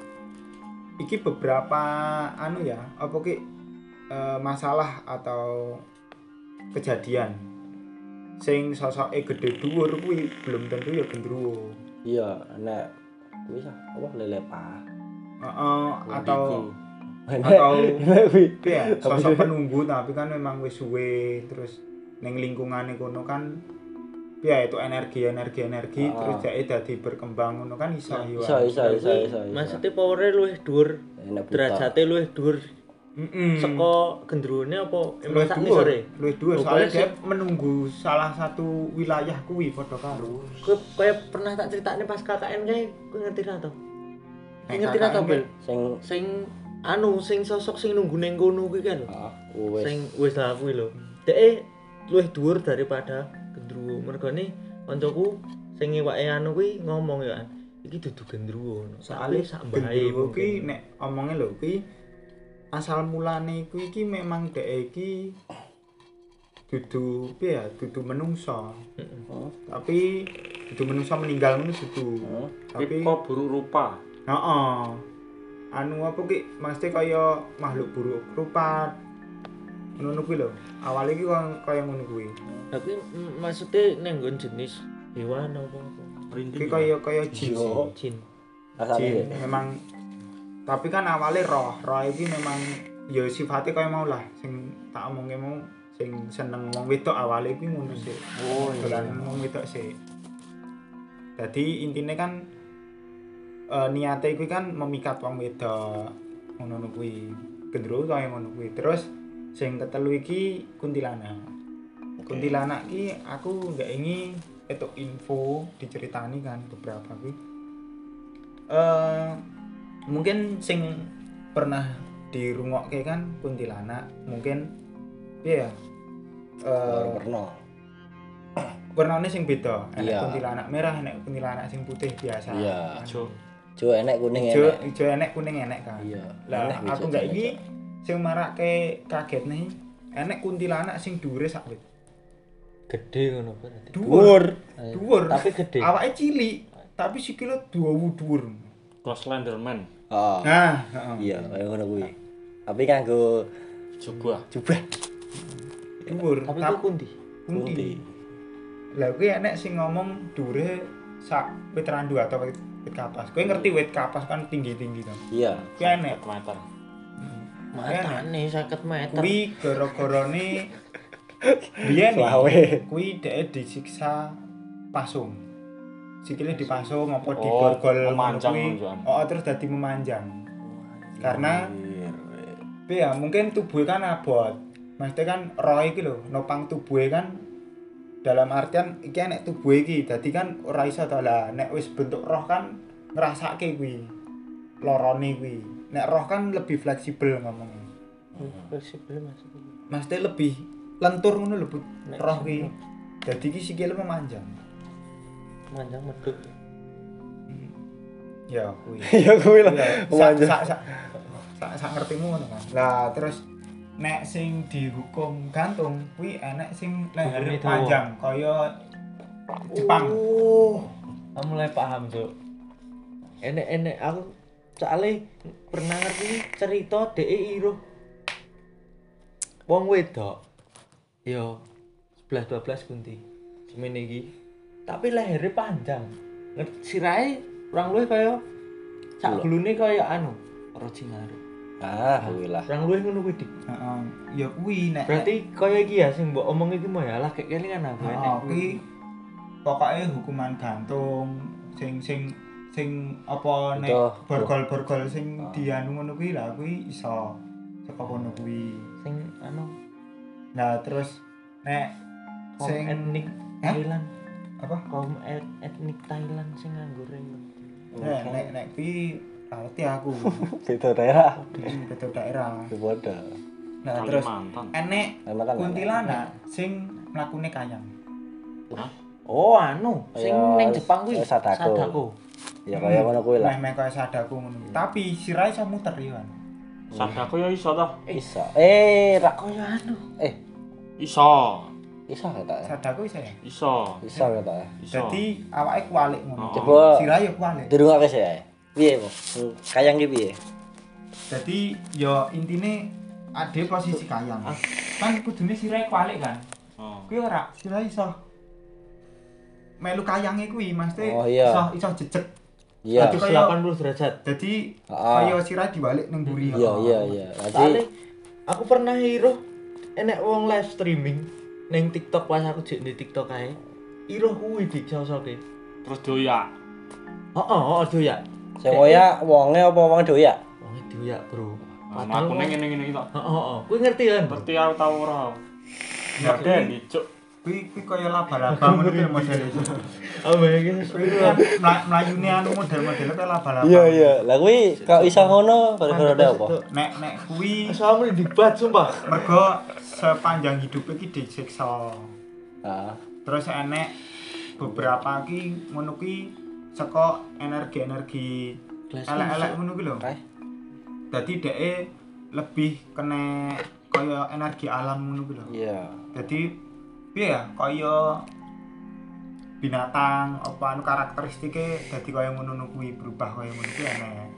[SPEAKER 4] iki beberapa anu ya, apa ki masalah atau kejadian sing sosoke gede dhuwur kuwi belum tentu ya gendruwo.
[SPEAKER 1] Iya, nek kuwi apa lelepa.
[SPEAKER 4] Heeh, atau
[SPEAKER 1] kuwi
[SPEAKER 4] ya sosok penunggu tapi kan memang wis suwe terus ning lingkungane kono kan ya itu energi terus jake dadi berkembang ngono kan iso yo.
[SPEAKER 1] Iso.
[SPEAKER 2] Maksudnya power-e luwih dhuwur, derajate luwih dhuwur. Saka gendruwone apa
[SPEAKER 4] luwih
[SPEAKER 2] sak
[SPEAKER 4] dhuwur,
[SPEAKER 2] ngisore?
[SPEAKER 4] luwih dhuwur soalnya dia menunggu salah satu wilayah kuwi padha karo.
[SPEAKER 2] Kowe kaya pernah tak critakne pas KKN kae, kowe ngerti ra to? Ngerti ra to, Bel? Sing sosok sing nunggu ning kono kuwi kan lho. Sing wis lah kuwi lho. Deke luwih dhuwur daripada gendruwo. Mergone kancaku sing iwake anu kuwi ngomong ya, iki dudu gendruwo. Soale sak mbahe
[SPEAKER 4] kuwi nek omonge lho kuwi asal mulane kuwi iki memang dhek iki dudu piye ya, dudu menungso. Tapi dudu menungso meninggal ngono dudu.
[SPEAKER 3] tapi kok buruk rupa.
[SPEAKER 4] Heeh. Anu apa ki mesti kaya makhluk buruk rupa. Ngono kuwi lho. Awale iki kaya ngono kuwi.
[SPEAKER 2] Tapi maksudnya ning nggon jenis hewan apa?
[SPEAKER 4] Iki kaya jin.
[SPEAKER 2] Jin.
[SPEAKER 4] Jin memang tapi kan awalnya roh iki memang ya sifatnya kaya mau lah sing tak omongke mau sing seneng wong wedok awalnya iki ngono sih. Oh iya wong wedok sih. Dadi intine kan niate kuwi kan memikat wong wedok ngono kuwi gendero kaya ngono kuwi terus sing ketelu iki kuntilanak. Kuntilanak ki aku nggak ingin itu info diceritani kan beberapa ki. Mungkin sing pernah dirungokke kan kuntilanak, mungkin piye ya?
[SPEAKER 1] Pernah.
[SPEAKER 4] Warnane sing beda. Enek
[SPEAKER 1] Iya.
[SPEAKER 4] kuntilanak merah, enek kuntilanak sing putih biasa.
[SPEAKER 1] Iya.
[SPEAKER 3] Ijo.
[SPEAKER 1] Jo enek kuning
[SPEAKER 4] Ijo,
[SPEAKER 1] enek.
[SPEAKER 4] ijo enek kuning enek kan.
[SPEAKER 1] Iya.
[SPEAKER 4] Lah
[SPEAKER 1] Enek
[SPEAKER 4] aku
[SPEAKER 1] bisa
[SPEAKER 4] nggak
[SPEAKER 1] jalan,
[SPEAKER 4] iki
[SPEAKER 1] Cok.
[SPEAKER 4] sing marake kaget nih. Enek kuntilanak sing dhuwure sak wit.
[SPEAKER 2] Gede ngono berarti.
[SPEAKER 4] Dhuwur. Dhuwur.
[SPEAKER 2] Tapi gede.
[SPEAKER 4] Awake cilik, tapi sikile dhuwur.
[SPEAKER 3] Close Slenderman.
[SPEAKER 1] Heeh.
[SPEAKER 4] Nah, heeh.
[SPEAKER 1] Iya, kaya ngono kuwi. Tapi kanggo
[SPEAKER 3] Juga.
[SPEAKER 1] jubah
[SPEAKER 4] Dhuwur.
[SPEAKER 2] Tapi ku kunti.
[SPEAKER 1] kunti.
[SPEAKER 4] Lah kuwi enek sing ngomong dhuwure sak wit randu atau wit kapas. Kowe ngerti wit kapas kan tinggi-tinggi kan.
[SPEAKER 1] Iya.
[SPEAKER 4] Kuwi enek.
[SPEAKER 3] 1 meter.
[SPEAKER 2] Matane 50 meter.
[SPEAKER 4] Kuwi gara-garane biyen
[SPEAKER 1] Selawe.
[SPEAKER 4] kuwi dhek disiksa pasung. Sikile dipasung apa
[SPEAKER 3] Oh,
[SPEAKER 4] digorgol
[SPEAKER 3] memanjang
[SPEAKER 4] kuwi.
[SPEAKER 3] menunjukkan.
[SPEAKER 4] Oh, terus dadi memanjang. Karena ya mungkin tubuhnya kan abot. Maksudnya kan roh iki lho, nopang tubuhnya kan dalam artian iki nek tubuh iki dadi kan ora iso to lah nek wis bentuk roh kan ngrasake kuwi. Lorone kuwi. Nek roh kan lebih fleksibel ngomongnya.
[SPEAKER 2] Fleksibel maksudnya.
[SPEAKER 4] Maksudnya lebih lentur ngono lho, Bu.
[SPEAKER 2] Nek
[SPEAKER 4] Roh
[SPEAKER 2] sing
[SPEAKER 4] ki. Dadi ki sikile memanjang.
[SPEAKER 2] Manjang medhuk.
[SPEAKER 4] Ya kuwi.
[SPEAKER 1] Ya kuwi lah.
[SPEAKER 4] Ya,
[SPEAKER 1] Memanjang.
[SPEAKER 4] sak ngertimu ngono kan. Lah terus nek sing dihukum gantung kuwi enek sing leher
[SPEAKER 2] Hukumnya dawa.
[SPEAKER 4] panjang kaya Jepang.
[SPEAKER 2] Aku mulai paham, Cuk. Enek aku soalnya pernah ngerti cerita dhek iruh wong wedok. Yo 11 12 kunti. Semene iki. Tapi lehernya panjang. Sirahe kurang luwih kaya sak glune kaya anu, Orochimaru.
[SPEAKER 1] Ah, kuwi lah.
[SPEAKER 2] Kurang luwih ngono kuwi, Dik.
[SPEAKER 4] Heeh. Ya kuwi nek
[SPEAKER 2] Berarti kaya iki ya sing mbok omong iki mau ya lah kayak kelingan aku enek.
[SPEAKER 4] kuwi pokoke hukuman gantung sing apa nek
[SPEAKER 1] Itu.
[SPEAKER 4] borgol-borgol sing dianu ngono kuwi lah kuwi iso saka kono kuwi.
[SPEAKER 2] Sing anu
[SPEAKER 4] Nah terus nek
[SPEAKER 2] kaum
[SPEAKER 4] sing
[SPEAKER 2] etnik
[SPEAKER 4] Hah?
[SPEAKER 2] Thailand,
[SPEAKER 4] apa?
[SPEAKER 2] kaum etnik Thailand sing nganggo ring.
[SPEAKER 4] Nek kuwi ngerti aku.
[SPEAKER 1] Beda daerah.
[SPEAKER 4] Betul daerah.
[SPEAKER 1] Beda.
[SPEAKER 4] Nah terus
[SPEAKER 3] Kalimantan.
[SPEAKER 4] enek
[SPEAKER 1] Memang kan
[SPEAKER 4] kuntilanak sing mlakune kayang.
[SPEAKER 2] Oh, anu, sing
[SPEAKER 1] Kaya
[SPEAKER 2] ning Jepang kuwi
[SPEAKER 1] Sadako. Ya kaya ngono kuwi lah.
[SPEAKER 4] Meh kaya sadaku ngono kuwi. Tapi sirahe iso muter ya.
[SPEAKER 3] Sadako ya iso toh.
[SPEAKER 1] Iso. Rak
[SPEAKER 2] Kaya anu.
[SPEAKER 3] Iso.
[SPEAKER 1] iso ketok ya.
[SPEAKER 4] Sadaku iso ya.
[SPEAKER 3] Iso.
[SPEAKER 1] Iso ketok ya.
[SPEAKER 3] Iso.
[SPEAKER 4] Jadi awake kualik ngono.
[SPEAKER 3] Oh.
[SPEAKER 1] Coba
[SPEAKER 4] Sirahe ya kualik.
[SPEAKER 1] dirungokke sih ya. Piye, Bu? Kayang ki piye?
[SPEAKER 4] Jadi ya intine ade posisi kayang. Kan kudune sirahe kualik kan.
[SPEAKER 3] Oh.
[SPEAKER 4] Kuwi ora sirahe iso melu kayange kuwi mesti
[SPEAKER 1] Oh, iya.
[SPEAKER 4] iso jejeg.
[SPEAKER 1] Iya.
[SPEAKER 4] Dadi kaya
[SPEAKER 2] 80 derajat.
[SPEAKER 4] dadi
[SPEAKER 1] Ah.
[SPEAKER 4] kaya sirahe dibalik ning mburi.
[SPEAKER 1] Iya, iya, iya.
[SPEAKER 2] Soale
[SPEAKER 1] Nanti
[SPEAKER 2] aku pernah iruh enek wong live streaming ning TikTok pas aku jek di TikTok kae. Iruh kuwi dik sosoke.
[SPEAKER 3] Terus doyak.
[SPEAKER 2] Heeh, doyak.
[SPEAKER 1] sing koya wonge apa wong doyak?
[SPEAKER 2] Wong doyak, Bro.
[SPEAKER 3] Nah, aku neng ngene-ngene iki toh.
[SPEAKER 2] Heeh. Kuwi ngerti kan?
[SPEAKER 3] Ngerti aku tau ora.
[SPEAKER 4] Ya,
[SPEAKER 3] Ada dicuk.
[SPEAKER 4] Kuwi kaya laba-laba ngono kuwi model itu.
[SPEAKER 2] Oh, bayangin
[SPEAKER 4] Kuwi mlayune anu model-model kaya laba-laba.
[SPEAKER 1] Iya, iya. Lah kuwi kok iso ngono gara-gara ada apa?
[SPEAKER 4] Nek kuwi
[SPEAKER 2] Sama dibat sumpah.
[SPEAKER 4] mergo sepanjang hidup iki disiksa.
[SPEAKER 1] Ah.
[SPEAKER 4] Terus enek beberapa ki ngono ki saka energi-energi elek-elek ngono ki lho.
[SPEAKER 1] Eh.
[SPEAKER 4] Dadi dheke lebih kena kaya energi alam ngono ki lho.
[SPEAKER 1] Iya.
[SPEAKER 4] Dadi piye ya kaya binatang apa anu karakteristike dadi kaya ngono kuwi berubah kaya ngono kuwi enek.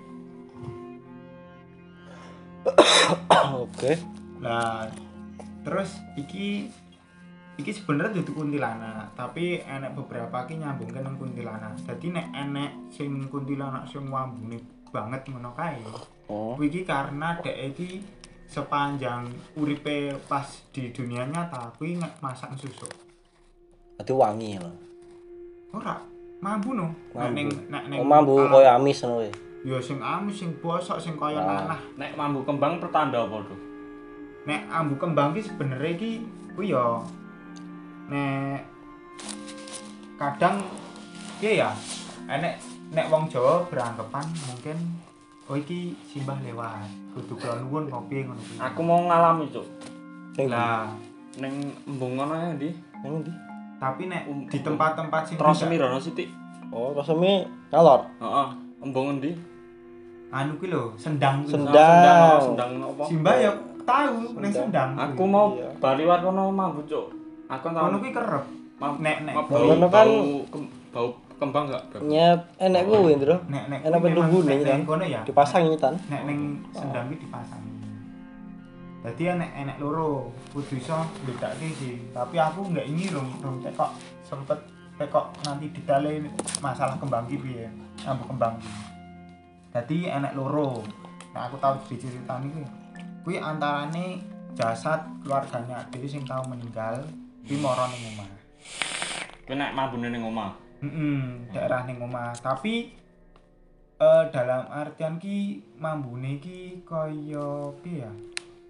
[SPEAKER 1] Oke.
[SPEAKER 4] Lah terus iki sebenarnya dudu kuntilanak, tapi enek beberapa ki nyambungke nang kuntilanak. Dadi nek enek sing kuntilanak sing wambune banget ngono kae.
[SPEAKER 1] Oh.
[SPEAKER 4] Kuwi iki karena dhek iki sepanjang uripe pas di dunia nyata kuwi masak susu.
[SPEAKER 1] Dadi wangi lho.
[SPEAKER 4] Ora, mambu no.
[SPEAKER 1] Mambu.
[SPEAKER 4] Nek
[SPEAKER 1] Oh, mambu
[SPEAKER 4] alam-
[SPEAKER 1] koyo amis ngono kuwi.
[SPEAKER 4] Ya sing amis sing bosok sing kaya
[SPEAKER 1] Ah.
[SPEAKER 4] nanah.
[SPEAKER 3] Nek mambu kembang pertanda apa tuh?
[SPEAKER 4] Nek ambu kembang ki sebenere ki kuwi ya nek kadang ya nek wong Jawa beranggapan mungkin oh iki simbah lewat kudu kula nuwun kopi ngono kuwi.
[SPEAKER 3] Aku mau ngalami, Cuk.
[SPEAKER 4] Lah
[SPEAKER 3] Ning embung ngono ya ndi?
[SPEAKER 1] Nang ndi?
[SPEAKER 4] tapi nek di tempat-tempat sing
[SPEAKER 3] Terus semirono sithik.
[SPEAKER 1] Oh, rasane ngalor.
[SPEAKER 3] Heeh. Embung endi?
[SPEAKER 4] anu kuwi lho sendang kuwi.
[SPEAKER 1] Sendang.
[SPEAKER 3] Sendang apa?
[SPEAKER 4] Simbah ya tahu ning sendang.
[SPEAKER 3] Aku mau baliwat kono mambu, Cuk. Aku tau.
[SPEAKER 4] Kono kuwi kerep. Nek
[SPEAKER 1] Kono kan
[SPEAKER 3] bau kembang enggak?
[SPEAKER 1] nyet enek kuwi, Ndro.
[SPEAKER 4] nek
[SPEAKER 1] Enak penunggune kan.
[SPEAKER 4] kono ya.
[SPEAKER 1] Dipasang nyetan.
[SPEAKER 4] Nek ning sendang iki dipasang. Dadi enek loro, kudu iso mbedakake sih. Tapi aku enggak ingin rum tekok sempet tekok nanti ditale masalah kembang iki piye. Ambu kembang iki. Dadi enek loro. Nah aku tahu diceritani kuwi antarane jasad keluarganya dhewe sing tau meninggal kuwi mara ning omah.
[SPEAKER 3] Kuwi nek mambune ning omah.
[SPEAKER 4] Daerah ning omah. Tapi dalam artian ki mambune ki kaya piye ya?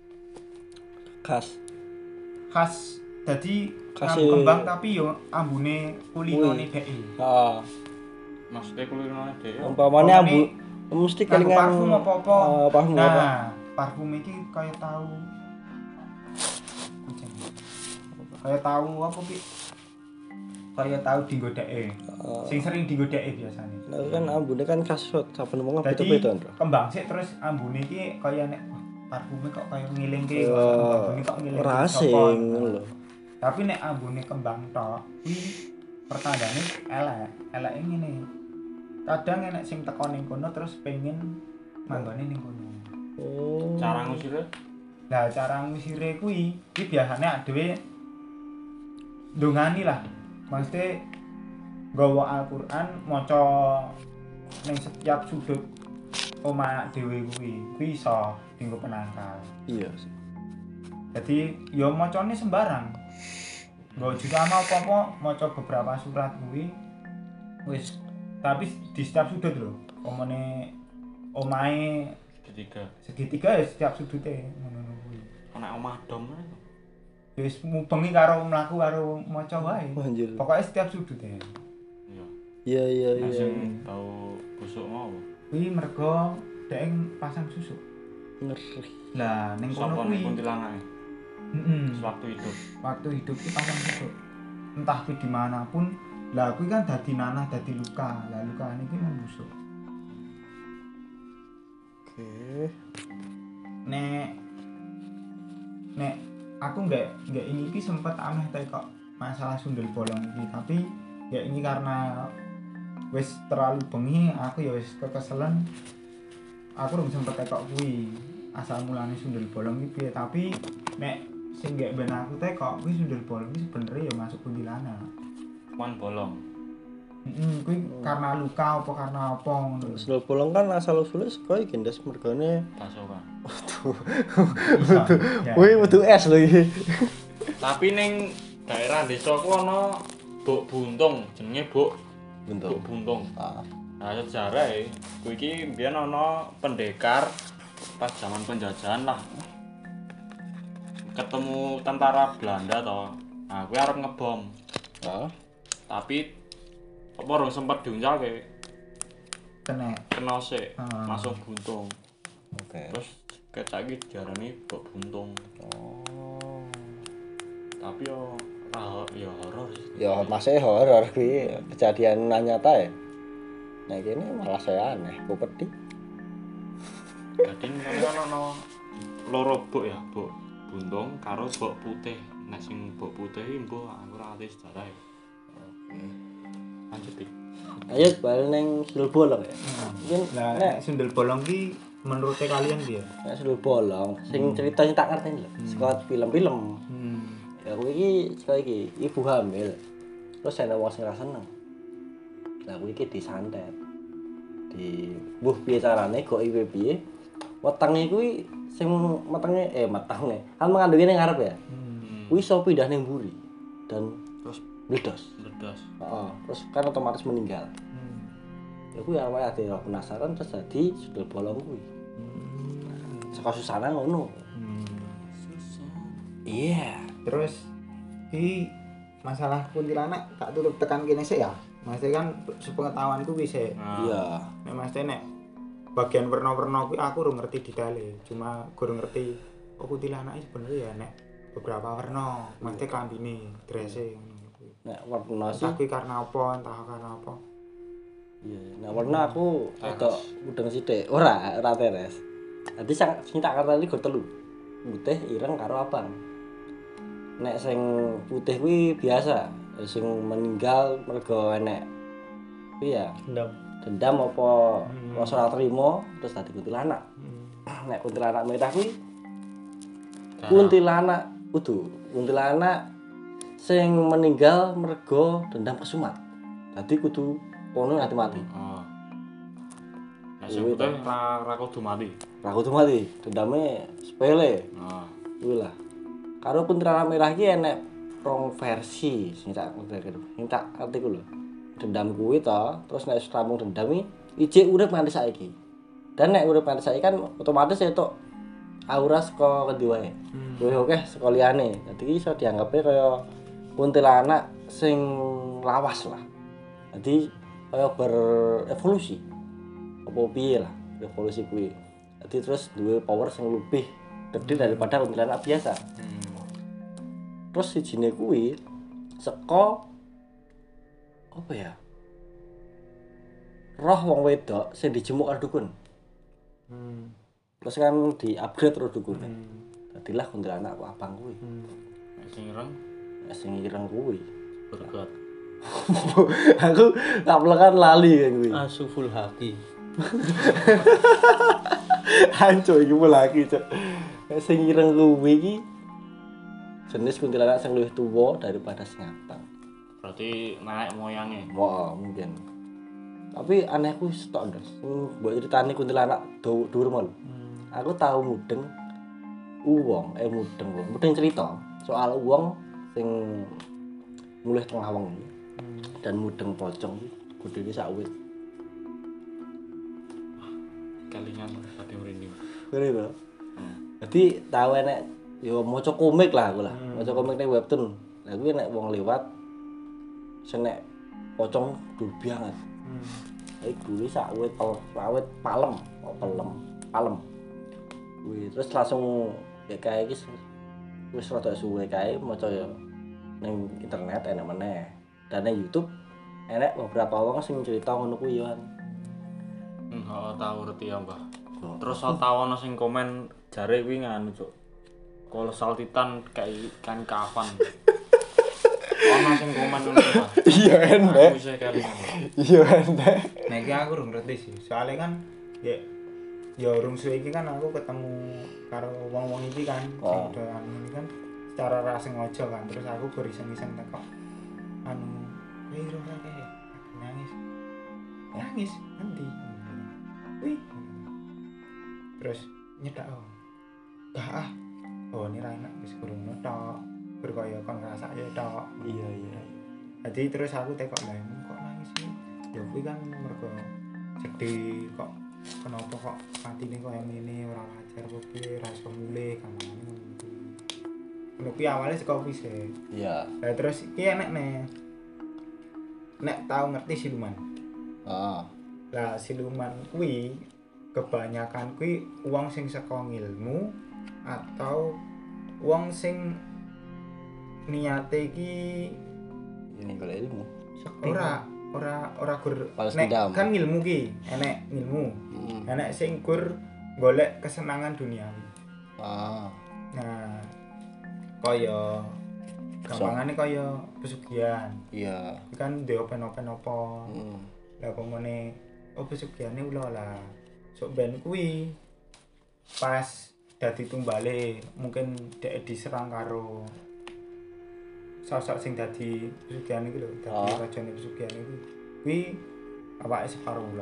[SPEAKER 4] Khas. Dadi
[SPEAKER 1] Khase-
[SPEAKER 4] kembang tapi yo ambune kulinone dhek.
[SPEAKER 1] Heeh.
[SPEAKER 3] Maksudnya kulino dhewe.
[SPEAKER 1] Umpamane ambu mesti
[SPEAKER 4] Nganggo
[SPEAKER 1] kelingan
[SPEAKER 4] parfum apa-apa.
[SPEAKER 1] parfum apa?
[SPEAKER 4] Nah, parfum iki kaya tahu kucing. Kaya tahu apa Pi? Kaya tahu dienggo dheke. Sing sering dienggo dheke biasane.
[SPEAKER 1] Nah, kan ambune kan khas saben wong
[SPEAKER 4] Dadi
[SPEAKER 1] beda-beda, Ndro.
[SPEAKER 4] kembang sik terus ambune iki kaya nek wah, parfume kok kaya ngilingke ambune kok ngilingke.
[SPEAKER 1] Ora
[SPEAKER 4] sapa.
[SPEAKER 1] asing ngono lho.
[SPEAKER 4] Tapi nek ambune kembang tok kuwi pertandane eleke ngene. Kadang enek sing teko ning kono terus pengen manggone ning kono.
[SPEAKER 1] Oh.
[SPEAKER 3] Cara ngusire
[SPEAKER 4] Nah, cara ngusire kuwi biasane dhewe ndongani lah. Maksudnya nggawa Al-Qur'an maca ning setiap sudut omah dhewe kuwi iso dienggo penangkal.
[SPEAKER 1] Iya sih.
[SPEAKER 4] Jadi ya macane sembarang. Nggo juga ana apa-apa maca beberapa surat kuwi wis tapi di setiap sudut lho. Omone omahe segitiga ya setiap sudute ngono kuwi.
[SPEAKER 3] ana omah dom.
[SPEAKER 4] Wis mubengi karo mlaku karo maca wae.
[SPEAKER 1] Anjir.
[SPEAKER 4] Pokoke setiap sudute.
[SPEAKER 3] Iya.
[SPEAKER 1] Iya.
[SPEAKER 3] Sing bau busuk mau.
[SPEAKER 4] Kuwi mergo dhek pasang susuk.
[SPEAKER 1] Ngeri.
[SPEAKER 4] Lah ning kono
[SPEAKER 3] Sapa
[SPEAKER 4] kuwi.
[SPEAKER 3] ning kuntilanake? Sewaktu hidup.
[SPEAKER 4] Waktu hidup ki pasang susuk. Entah kuwi dimanapun, lah kuwi kan dadi nanah, dadi luka. Lah lukane iki membusuk.
[SPEAKER 1] Oke.
[SPEAKER 4] Nek aku nggak ini ki sempet aneh kok masalah sundel bolong iki, tapi ya ini karena wis terlalu bengi aku ya wis kekeselen. Aku belum sempet tekok kuwi asal mulane sundel bolong iki piye, tapi nek sing gak ben aku tekok kuwi sundel bolong iki sebenarnya ya masuk kuntilanak.
[SPEAKER 3] Cuman bolong.
[SPEAKER 4] Kuwi karena luka apa karena apa ngono.
[SPEAKER 1] Sundel bolong kan asal usulnya sekolah iki ndas mergane.
[SPEAKER 3] Pasokan.
[SPEAKER 1] Wih, metu es lho iki.
[SPEAKER 3] Tapi ning daerah desaku ana Buk Buntung, jenenge Buk Buntung. Nah, sejarahe kuwi iki mbiyen ana pendekar pas zaman penjajahan lah. Ketemu tentara Belanda toh. Nah, kuwi arep ngebom. Tapi apa ora sempat diuncalke. Kena sik, langsung buntung.
[SPEAKER 1] Oke.
[SPEAKER 3] Terus kecak iki diarani Buk Buntung. Tapi yo horor sih.
[SPEAKER 1] Ya masih horor kuwi kejadian nyata ya. Nah kene malah saya aneh, ku pedih.
[SPEAKER 3] Dadi kan ana loro buk ya, Buk Buntung karo Buk Putih. Nek sing Buk Putih iki mbok aku ora ngerti sejarah. Oke. Lanjut iki.
[SPEAKER 1] Ayo bal ning sundel bolong ya. Mungkin
[SPEAKER 4] Lah nek sundel bolong ki menurut kalian piye?
[SPEAKER 1] nek sundel bolong sing ceritanya tak ngerti lho. Saka film-film. Ya kuwi iki saka iki ibu hamil. Terus ana wong sing ra seneng. Lah kuwi iki disantet. Di mbuh piye carane kok iwe piye? Wetenge kuwi sing metenge metenge kan mengandungi ning ngarep ya. Kuwi iso pindah ning mburi dan terus meledos. Heeh, terus kan otomatis meninggal. Ya kuwi awake ade penasaran terus dadi sundel bolong kuwi. Saka susana ngono. Iya.
[SPEAKER 4] Terus iki masalah kuntilanak tak tutup tekan kene sik ya. Maksudnya kan sepengetahuanku kuwi sik.
[SPEAKER 1] Iya.
[SPEAKER 4] Nek maksudnya nek bagian warna-warna kuwi aku ora ngerti detaile. Cuma kurang ngerti kuntilanak iki sebenarnya ya nek beberapa warna, maksudnya klambine, drese ngono kuwi.
[SPEAKER 1] Nek warna sih
[SPEAKER 4] Entah kuwi karena apa, entah karena apa.
[SPEAKER 1] iya, nek warna aku agak mudeng sithik. Ora teres. Dadi sing tak karteli go telu. Putih, ireng karo abang. Nek sing putih kuwi biasa, sing meninggal mergo enek kuwi ya dendam apa rasa ora trima terus dadi kuntilanak. Nek kuntilanak merah kuwi kuntilanak kuntilanak sing meninggal mergo dendam kesumat. Dadi kudu kono nganti mati.
[SPEAKER 3] Oh. Nek sing putih ra kudu mati.
[SPEAKER 1] Ra kudu mati, dendame sepele.
[SPEAKER 3] Oh.
[SPEAKER 1] Kuwi lah. Karo kuntilanak merah iki enek rong versi sing tak ngerti ku lho. Dendam kuwi to, terus nek rampung dendam iki urip nganti saiki. Dan nek urip nganti saiki kan otomatis entuk aura saka kendi wae. Luwih akeh saka liyane. Dadi iki iso dianggepe kaya kuntilanak sing lawas lah. Dadi kaya berevolusi. Apa piye lah revolusi kuwi. Dadi terus duwe power sing lebih gede daripada kuntilanak biasa. Terus sijine kuwi saka apa ya? Roh wong wedok sing dijemuk karo dukun. Terus kan di-upgrade terus dukune. Dadilah kuntilanak kok abang kuwi.
[SPEAKER 3] Nek sing ireng
[SPEAKER 1] Sing ireng kuwi.
[SPEAKER 3] bergot.
[SPEAKER 1] Aku tak pelekan lali kan kuwi.
[SPEAKER 2] Asuful haki.
[SPEAKER 1] Hancur iki lagi, Cuk. Sing ireng kuwi iki jenis kuntilanak sing luwih tuwa daripada sing abang.
[SPEAKER 3] Berarti naik moyangnya.
[SPEAKER 1] Wah, mungkin. Tapi anehku stok ndas. Mbok critani kuntilanak dhuwur mul. Aku tahu mudeng mudeng cerita soal wong sing mulih tengah wengi dan mudeng pocong gedene sak wit.
[SPEAKER 3] Kalingan tadi merinding.
[SPEAKER 1] Ngene to. Dadi tahu enek yo maca komik lah aku lah. Maca komik ning webtoon. Lah kuwi nek wong liwat sing nek pocong dur banget. Iku sak wit palem. Kuwi terus langsung ya kae iki wis rada suwe kae maca ya ning internet enak meneh. Dan ning YouTube enek beberapa wong sing cerita ngono kuwi yo.
[SPEAKER 3] Tahu ngerti ya, Mbah. Terus tau ana sing komen jare kuwi nganu, Cuk. Kolosal Titan kayak ikan kafan. Ana sing komen ngono, Mbah.
[SPEAKER 1] Iya enek.
[SPEAKER 3] Aku isih kelingan.
[SPEAKER 1] Iya enek.
[SPEAKER 4] Nah iki aku urung ngerti sih. Soalnya kan ya urung suwe iki kan aku ketemu karo wong-wong iki kan sing udah ini kan secara ra sengaja kan. Terus aku beriseng-iseng teko ora kae nangis nanti wih terus nyedak ini ra enak wis kurang tok berkaya kon ngrasake tok.
[SPEAKER 1] Iya.
[SPEAKER 4] Jadi terus aku tekok lah kok nangis sih. Ya kuwi kan mergo sedih kok kenapa kok patine koyo ngene ora wajar kok piye ra iso mulih kan ngono. Ngono kuwi awale saka kuwi sih.
[SPEAKER 1] Iya.
[SPEAKER 4] Lah terus iki enek nek tau ngerti siluman. Lah siluman kuwi kebanyakan kuwi wong sing saka ngilmu atau wong sing niate iki
[SPEAKER 1] ini golek ilmu.
[SPEAKER 4] ora gur
[SPEAKER 1] nek
[SPEAKER 4] kan ngilmu ki enek ngilmu. Enek sing gur golek kesenangan duniawi. Nah, kaya gampangane kaya pesugihan.
[SPEAKER 1] Iya.
[SPEAKER 4] Kan ndek open-open apa. Lah pemene pesugiane ula lah. Sok ben kuwi pas dadi tumbale mungkin dek diserang karo sosok sing dadi pesugihan iki lho, dadi rajane pesugihan iki. Kuwi awake separo ula.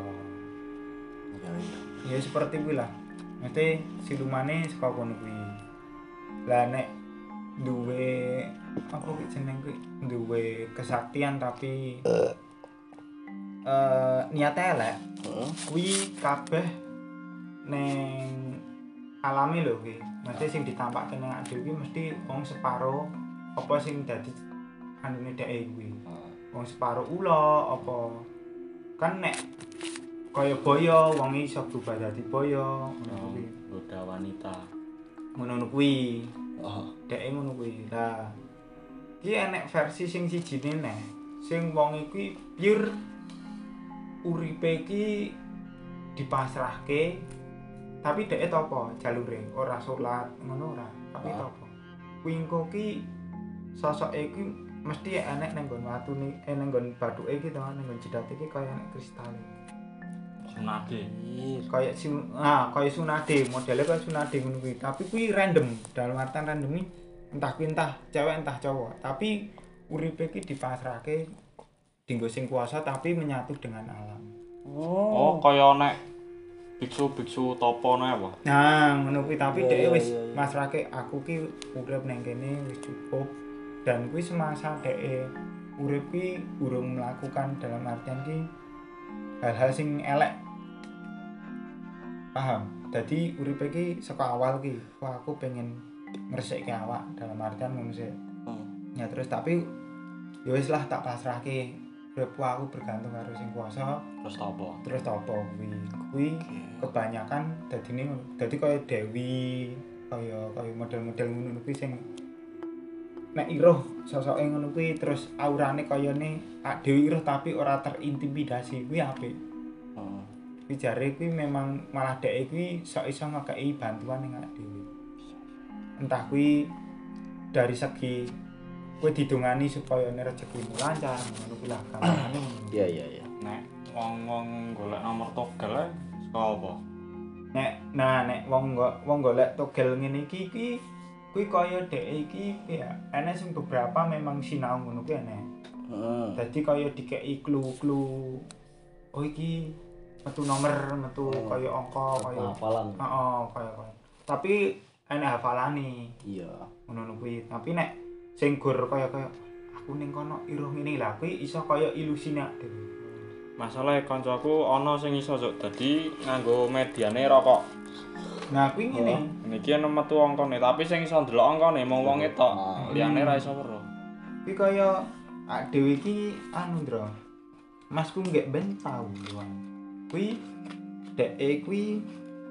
[SPEAKER 4] Ya seperti kuwi lah. Mesti silumane saka kono kuwi. Lah nek duwe apa kuwi jeneng kuwi duwe kesaktian tapi niate elek. Kuwi kabeh ning alami lho kuwi. Mesti sing ditampakke ning ade kuwi mesti wong separo apa sing dadi anune dhek kuwi. Wong separo ula apa kan nek kaya boyo wong iso berubah dadi boyo ngono kuwi.
[SPEAKER 3] Goda wanita.
[SPEAKER 4] Ngono kuwi.
[SPEAKER 1] Oh.
[SPEAKER 4] Dhek ngono kuwi. Lah iki enek versi sing sijine neh. Sing wong iki pure uripe iki dipasrahke tapi dhek topo jalure ora salat ngono ora tapi topo kuwi engko ki sosoke iki mesti enek nang nggon watune nang nggon bathuke iki to nang nggon jedate iki kaya enek kristale
[SPEAKER 3] Sunade.
[SPEAKER 4] kaya kaya sunade modele kaya sunade ngono kuwi tapi kuwi random dalam artian random iki entah kuwi entah cewek entah cowok tapi uripe iki dipasrahke dinggo sing kuasa tapi menyatu dengan alam.
[SPEAKER 3] Oh, kaya nek biksu-biksu topo nek apa?
[SPEAKER 4] Nah, ngono kuwi tapi
[SPEAKER 1] Iya,
[SPEAKER 4] dhek wis
[SPEAKER 1] iya, iya.
[SPEAKER 4] masrahke aku ki urip nang kene wis cukup dan kuwi semasa dhek urip ki urung melakukan dalam artian ki hal-hal sing elek. Paham? Dadi uripe ki saka awal ki wah aku pengen ngresekke awak dalam artian ngono sih. Ya terus tapi ya wis lah tak pasrahke uripku aku bergantung karo sing kuasa.
[SPEAKER 3] Terus topo?
[SPEAKER 4] Kuwi kebanyakan dadine dadi kaya Dewi kaya model-model ngono kuwi sing nek iruh sosoke ngono kuwi terus aurane kayane Dewi iruh tapi ora terintimidasi kuwi apik. Kuwi jare kuwi memang malah dhek kuwi sok iso ngekeki bantuan ning Dewi. Entah kuwi dari segi kowe didongani supaya rezekimu lancar ngono kuwi lah gampangane.
[SPEAKER 1] Iya.
[SPEAKER 3] Nek wong-wong golek nomor togel saka apa?
[SPEAKER 4] Nek wong golek togel ngene iki kuwi kaya dhek iki ya ana sing beberapa memang sinau ngono kuwi ana. Dadi kaya dikeki clue-clue. Oh iki metu nomor, metu kaya angka kaya
[SPEAKER 1] hafalan.
[SPEAKER 4] Heeh, kaya. Tapi ana hafalane.
[SPEAKER 1] Iya.
[SPEAKER 4] Ngono kuwi. Tapi nek sing gur kaya aku ning kono iruh ngene lah kuwi iso kaya ilusine dhewe.
[SPEAKER 3] Masalahe kancaku ana sing iso Cuk, dadi nganggo mediane rokok.
[SPEAKER 4] Nah kuwi ngene.
[SPEAKER 3] Niki ana metu angkane, tapi sing iso ndelok angkane mung wonge tok. Liyane ra iso weruh.
[SPEAKER 4] Kuwi kaya dhewe iki anu Ndra. Masku nggek ben tau doang. Kuwi dhek kuwi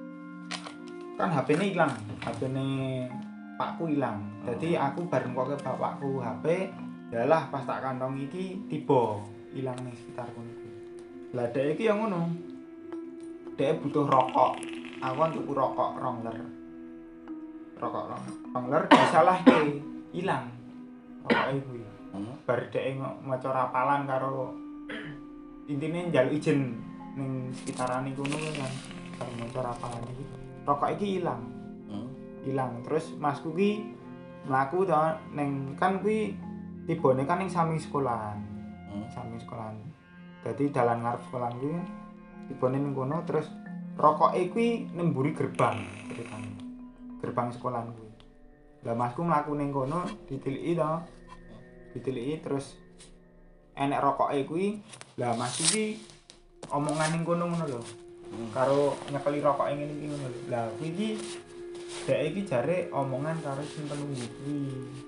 [SPEAKER 4] kan HP-ne ilang, HP-ne pakku ilang. Dadi aku bareng kok ke bapakku HP, yalah pas tak kantong iki tiba ilang ning sekitar kono kuwi. Lah dhek iki yang ngono. Dhek butuh rokok. Aku kan tuku rokok Rongler. Rokok Rongler disalahke, ilang. Rokoke kuwi. Bar dhek maca rapalan karo intine njaluk izin ning sekitarane kono kan. Karo maca rapalan iki. Rokok iki ilang. Hilang terus masku ki mlaku to ning kan kuwi tibane kan ning samping sekolahan. Samping sekolahan. Dadi dalan ngarep sekolahan kuwi tibane ning kono terus rokoke kuwi nemburi gerbang ceritane. Gerbang sekolahan kuwi. Lah masku mlaku ning kono ditiliki to. Ditiliki terus enek rokoke kuwi. Lah masku ki omongan ning kono ngono lho. Karo nyekeli rokoke ngene iki ngono lho. Lah kuwi iki dhek iki jare omongan karo sing penunggu kuwi.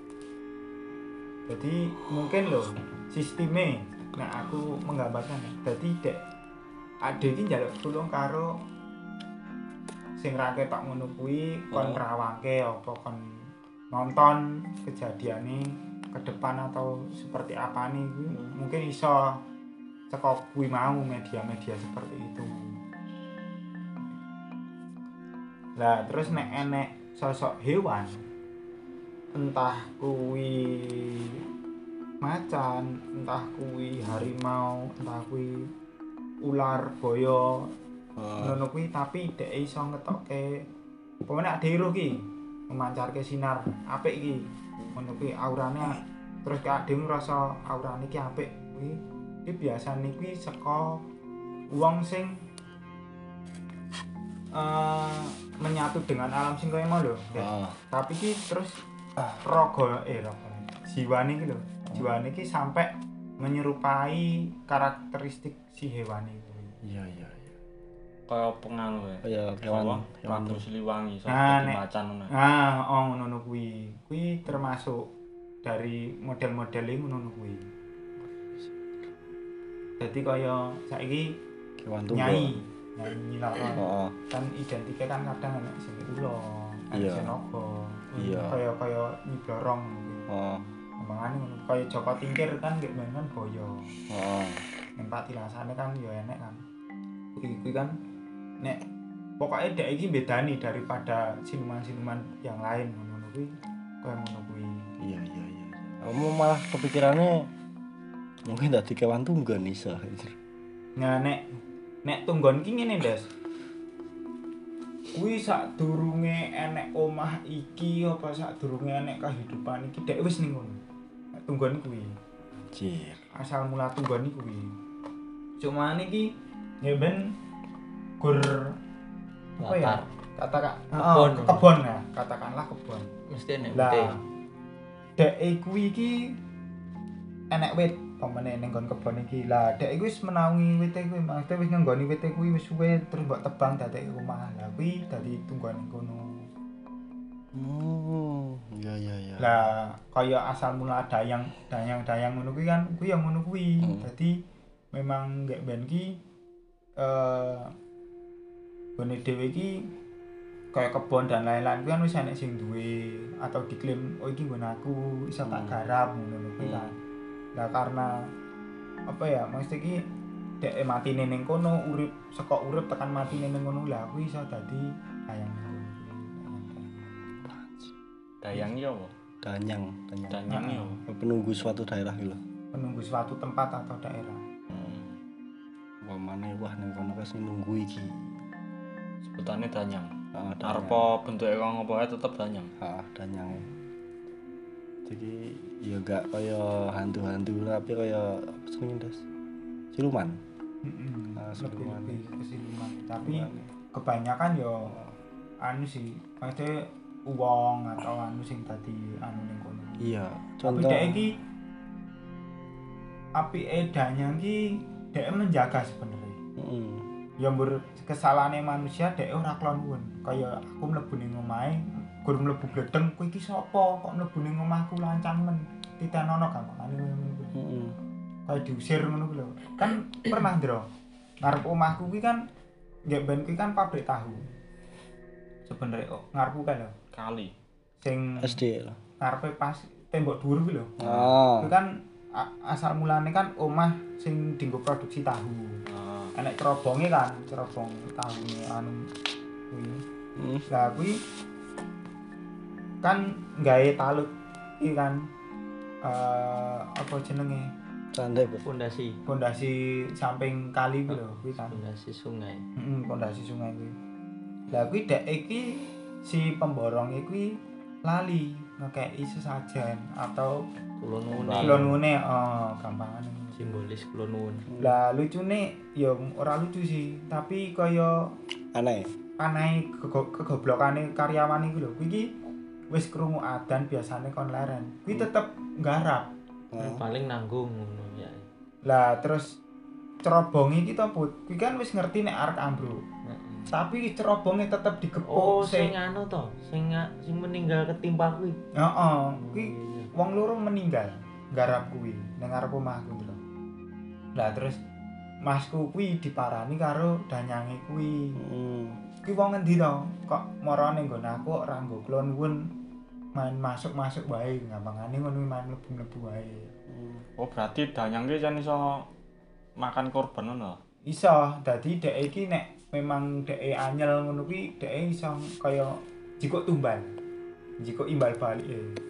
[SPEAKER 4] Jadi mungkin lho sisteme nek aku menggambarkan. Dadi dhek ade iki njaluk tulung karo sing ra ketok ngono kuwi kon ngrawangke apa kon nonton kejadiane ke depan atau seperti apa nih kuwi mungkin iso cekok kuwi mau media-media seperti itu. Lah terus nek enek sosok hewan entah kuwi macan, entah kuwi harimau, entah kuwi ular boyo ngono kuwi tapi dhek iso ngetokke pemene ade iruh ki memancarke sinar apik iki ngono kuwi aurane terus kak ade ngrasa aurane ki apik kuwi iki biasane kuwi saka wong sing menyatu dengan alam sing kaya mau lho. Tapi ki terus raga jiwane iki lho. Jiwane iki sampai menyerupai karakteristik si hewan itu.
[SPEAKER 1] Iya.
[SPEAKER 3] Kaya pengaruh ya.
[SPEAKER 1] Hewan
[SPEAKER 3] Ratu Siliwangi
[SPEAKER 4] Nah,
[SPEAKER 3] sampe
[SPEAKER 4] nek-
[SPEAKER 3] macan ngono.
[SPEAKER 4] Ngono kuwi. Kuwi termasuk dari model-modele ngono kuwi. Dadi kaya saiki
[SPEAKER 1] Kewan tunggal.
[SPEAKER 4] nyai nyiloro.
[SPEAKER 1] Heeh.
[SPEAKER 4] Kan identike kan kadang ana sing ulo, ana
[SPEAKER 1] Iya.
[SPEAKER 4] sing naga.
[SPEAKER 1] Iya.
[SPEAKER 4] Kaya nyiblorong gitu.
[SPEAKER 1] Heeh.
[SPEAKER 4] Omongan ngono kaya Joko Tingkir kan nggih kan boyo.
[SPEAKER 1] Heeh.
[SPEAKER 4] Ning patilasane kan ya enek kan. Kuwi kan nek pokoknya dek iki bedani daripada siluman-siluman yang lain ngono kuwi kaya ngono kuwi.
[SPEAKER 1] Iya. Kamu malah kepikirannya mungkin dadi kewan tunggal iso.
[SPEAKER 4] Nah nek tunggon ki ngene, Des. Kuwi sadurunge enek omah iki apa sadurunge enek kehidupan iki dek wis ning ngono. Nek tunggon kuwi.
[SPEAKER 1] Anjir.
[SPEAKER 4] Asal mula tunggon iki kuwi. Cuma iki ya ben gur apa ya? Kebon ya, katakanlah kebon.
[SPEAKER 2] Mesti enek
[SPEAKER 4] Lah
[SPEAKER 2] wite.
[SPEAKER 4] dek kuwi iki enek wit pamane ning nggon kebon iki. Lah dek wis menawi wite kuwi, maksudnya wis ngenggoni wite kuwi wis suwe terus mbok tebang dadek omah. Lah kuwi dadi tunggon kono.
[SPEAKER 1] Iya.
[SPEAKER 4] Lah kaya asal mula dayang ngono kuwi kan kuwi yang ngono kuwi. Dadi memang gek ben ki gone dhewe iki kaya kebon dan lain-lain kuwi kan wis enek sing duwe atau diklaim oh iki nggon aku iso tak garap ngono kuwi kan. Lah karena apa ya maksud iki dek matine ning kono urip saka urip tekan matine ning kono lah kuwi iso dadi dayang.
[SPEAKER 3] Dayang ya apa?
[SPEAKER 1] Danyang.
[SPEAKER 3] Danyang ya apa?
[SPEAKER 1] Penunggu suatu daerah gitu.
[SPEAKER 4] Penunggu suatu tempat atau daerah.
[SPEAKER 1] Wamane wah ning kono wis nunggu iki.
[SPEAKER 3] Sebutane danyang.
[SPEAKER 1] Heeh,
[SPEAKER 3] Arepa bentuke kaya ngopo ae tetep danyang.
[SPEAKER 1] Heeh, danyang. Jadi ya gak kaya hantu-hantu tapi kaya apa jenenge, Des? Siluman. Siluman.
[SPEAKER 4] Lebih ke siluman. Tapi kebanyakan yo anu sih, maksudnya uang atau anu sing tadi anu ning kono.
[SPEAKER 1] Iya,
[SPEAKER 4] Tapi
[SPEAKER 1] contoh.
[SPEAKER 4] dek iki apike danyang ki dek menjaga sebenarnya.
[SPEAKER 1] Heeh.
[SPEAKER 4] Ya mbur kesalahane manusia dek ora klon. Kaya aku mlebu ning omahe, gur mlebu bledeng, kowe iki sapa? Kok mlebu ning omahku lancang men. Titenono gampangane ngono kuwi.
[SPEAKER 1] Heeh.
[SPEAKER 4] Kaya diusir ngono kuwi lho. Kan pernah ndro. Ngarep omahku kuwi kan nggih ben kuwi kan pabrik tahu. Sebenarnya ngarepku kan lho.
[SPEAKER 3] Kali.
[SPEAKER 4] Sing
[SPEAKER 1] SD lah.
[SPEAKER 4] ngarepe pas tembok dhuwur kuwi lho.
[SPEAKER 1] Ah.
[SPEAKER 4] Kuwi kan asal mulane kan omah sing dienggo produksi tahu. Enek cerobonge kan, cerobong tahune anu kuwi. Lah kuwi kan gawe talut iki kan apa jenenge?
[SPEAKER 1] Candai, Bu.
[SPEAKER 2] Pondasi
[SPEAKER 4] samping kali kuwi lho, kuwi kan.
[SPEAKER 2] pondasi sungai.
[SPEAKER 4] Pondasi sungai kuwi. Lah kuwi dek iki si pemborong kuwi lali ngekeki sesajen atau kulonune gampangane
[SPEAKER 2] simbolis kulonun.
[SPEAKER 4] lah lucune ya ora lucu sih tapi kaya
[SPEAKER 1] Aneh.
[SPEAKER 4] kegoblokane karyawan iku lho kuwi iki wis krungu adzan biasane kon leren kuwi tetep nggarap
[SPEAKER 2] Paling nanggung ngono ya.
[SPEAKER 4] lah terus cerobonge iki to Put kuwi kan wis ngerti nek arek ambruk tapi cerobonge tetep digepuk
[SPEAKER 2] Oh, sing anu to, sing meninggal ketimpa kuwi.
[SPEAKER 4] heeh kuwi wong loro meninggal nggarap kuwi ning ngarep omahku lho lah terus masku kuwi diparani karo danyange kuwi kuwi wong endi to kok marane nggon aku ora nggo klon nuwun main masuk-masuk wae gampangane ngono main mlebu-mlebu wae
[SPEAKER 3] Oh, berarti danyang ki jan iso makan korban ngono.
[SPEAKER 4] iso dadi dhek iki nek memang dhek anyel ngono kuwi dhek iso kaya jikok tumbal jikok imbal balik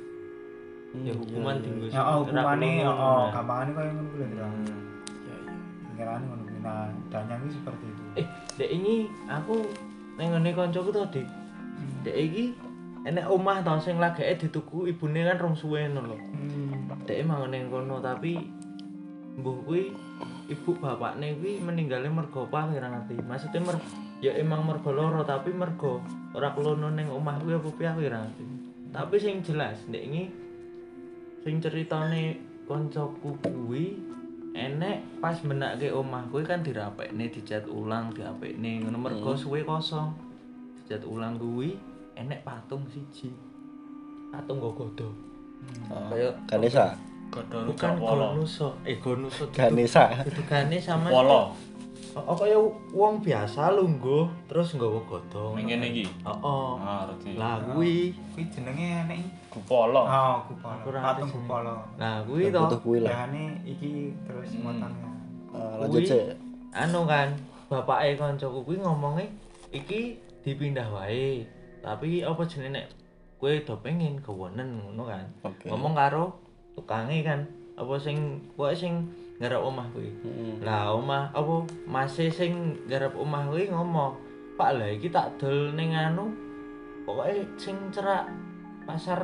[SPEAKER 2] Ya hukuman tinggal.
[SPEAKER 4] ya hukumane gampangane kaya ngono kuwi lho ngirane ngono kuwi nah danyang iki seperti itu
[SPEAKER 2] Dek ini aku ning ngene kancaku to, Dik. Dek iki enek omah to sing lageke dituku ibune kan rong suwe ngono lho. Dek mangan ning kono tapi mbuh kuwi ibu bapakne kuwi meninggalnya mergo apa ora ngerti. Maksudnya ya emang mergo loro tapi mergo ora klono ning omah kuwi apa piye aku ora ngerti. Tapi sing jelas ndek iki sing ceritane kancaku kuwi enek pas menake omah kuwi kan dirapekne dicat ulang diapekne ngono mergo suwe kosong. Dicat ulang kuwi enek patung siji. Patung nggogodo. Kayak
[SPEAKER 1] Ganesa.
[SPEAKER 3] Godhong
[SPEAKER 2] bukan
[SPEAKER 3] polo.
[SPEAKER 2] Gonuso. Gonuso
[SPEAKER 1] Ganesa.
[SPEAKER 2] itu gane sama
[SPEAKER 3] Polo.
[SPEAKER 2] Oh kaya wong biasa lungguh terus nggawa godhong.
[SPEAKER 3] Ning kene iki.
[SPEAKER 2] Heeh.
[SPEAKER 3] Ah, ngerti.
[SPEAKER 2] Lah kuwi
[SPEAKER 4] Kuwi jenenge enek
[SPEAKER 3] Gupolo.
[SPEAKER 4] Gupolo.
[SPEAKER 2] Aku ora
[SPEAKER 4] Patung
[SPEAKER 2] ngerti sih.
[SPEAKER 4] Gupolo.
[SPEAKER 2] Nah, kuwi to.
[SPEAKER 1] Butuh kuwi lah.
[SPEAKER 4] Jane iki terus motongnya.
[SPEAKER 1] Lanjut
[SPEAKER 2] Kuwi,
[SPEAKER 1] sih.
[SPEAKER 2] anu kan, bapake kancaku kuwi ngomonge iki dipindah wae. Tapi apa jenenge nek kowe do pengen kewonen ngono kan.
[SPEAKER 1] Oke.
[SPEAKER 2] Ngomong karo tukange kan, apa sing pokoke sing garap omah kuwi. Lah omah apa mase sing garap omah kuwi ngomong, "Pak, lah iki tak dol ning anu pokoke sing cerak pasar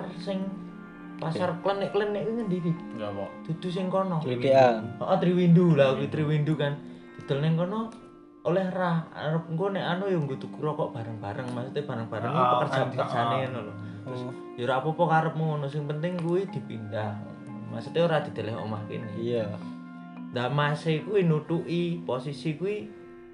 [SPEAKER 2] klenik-klenik kuwi ngendi iki?
[SPEAKER 3] Ya kok.
[SPEAKER 2] Dudu sing kono."
[SPEAKER 1] Klitikan.
[SPEAKER 2] Heeh, Triwindu lah kuwi Triwindu kan. Didol ning kono oleh ra arep engko nek anu ya nggo tuku rokok bareng-bareng, maksudnya bareng-bareng pekerjaan-pekerjaane ngono lho. Terus ya ora apa-apa karepmu ngono, sing penting kuwi dipindah. Maksudnya ora dideleh omah kene.
[SPEAKER 1] Iya.
[SPEAKER 2] Lah mase kuwi nutuki posisi kuwi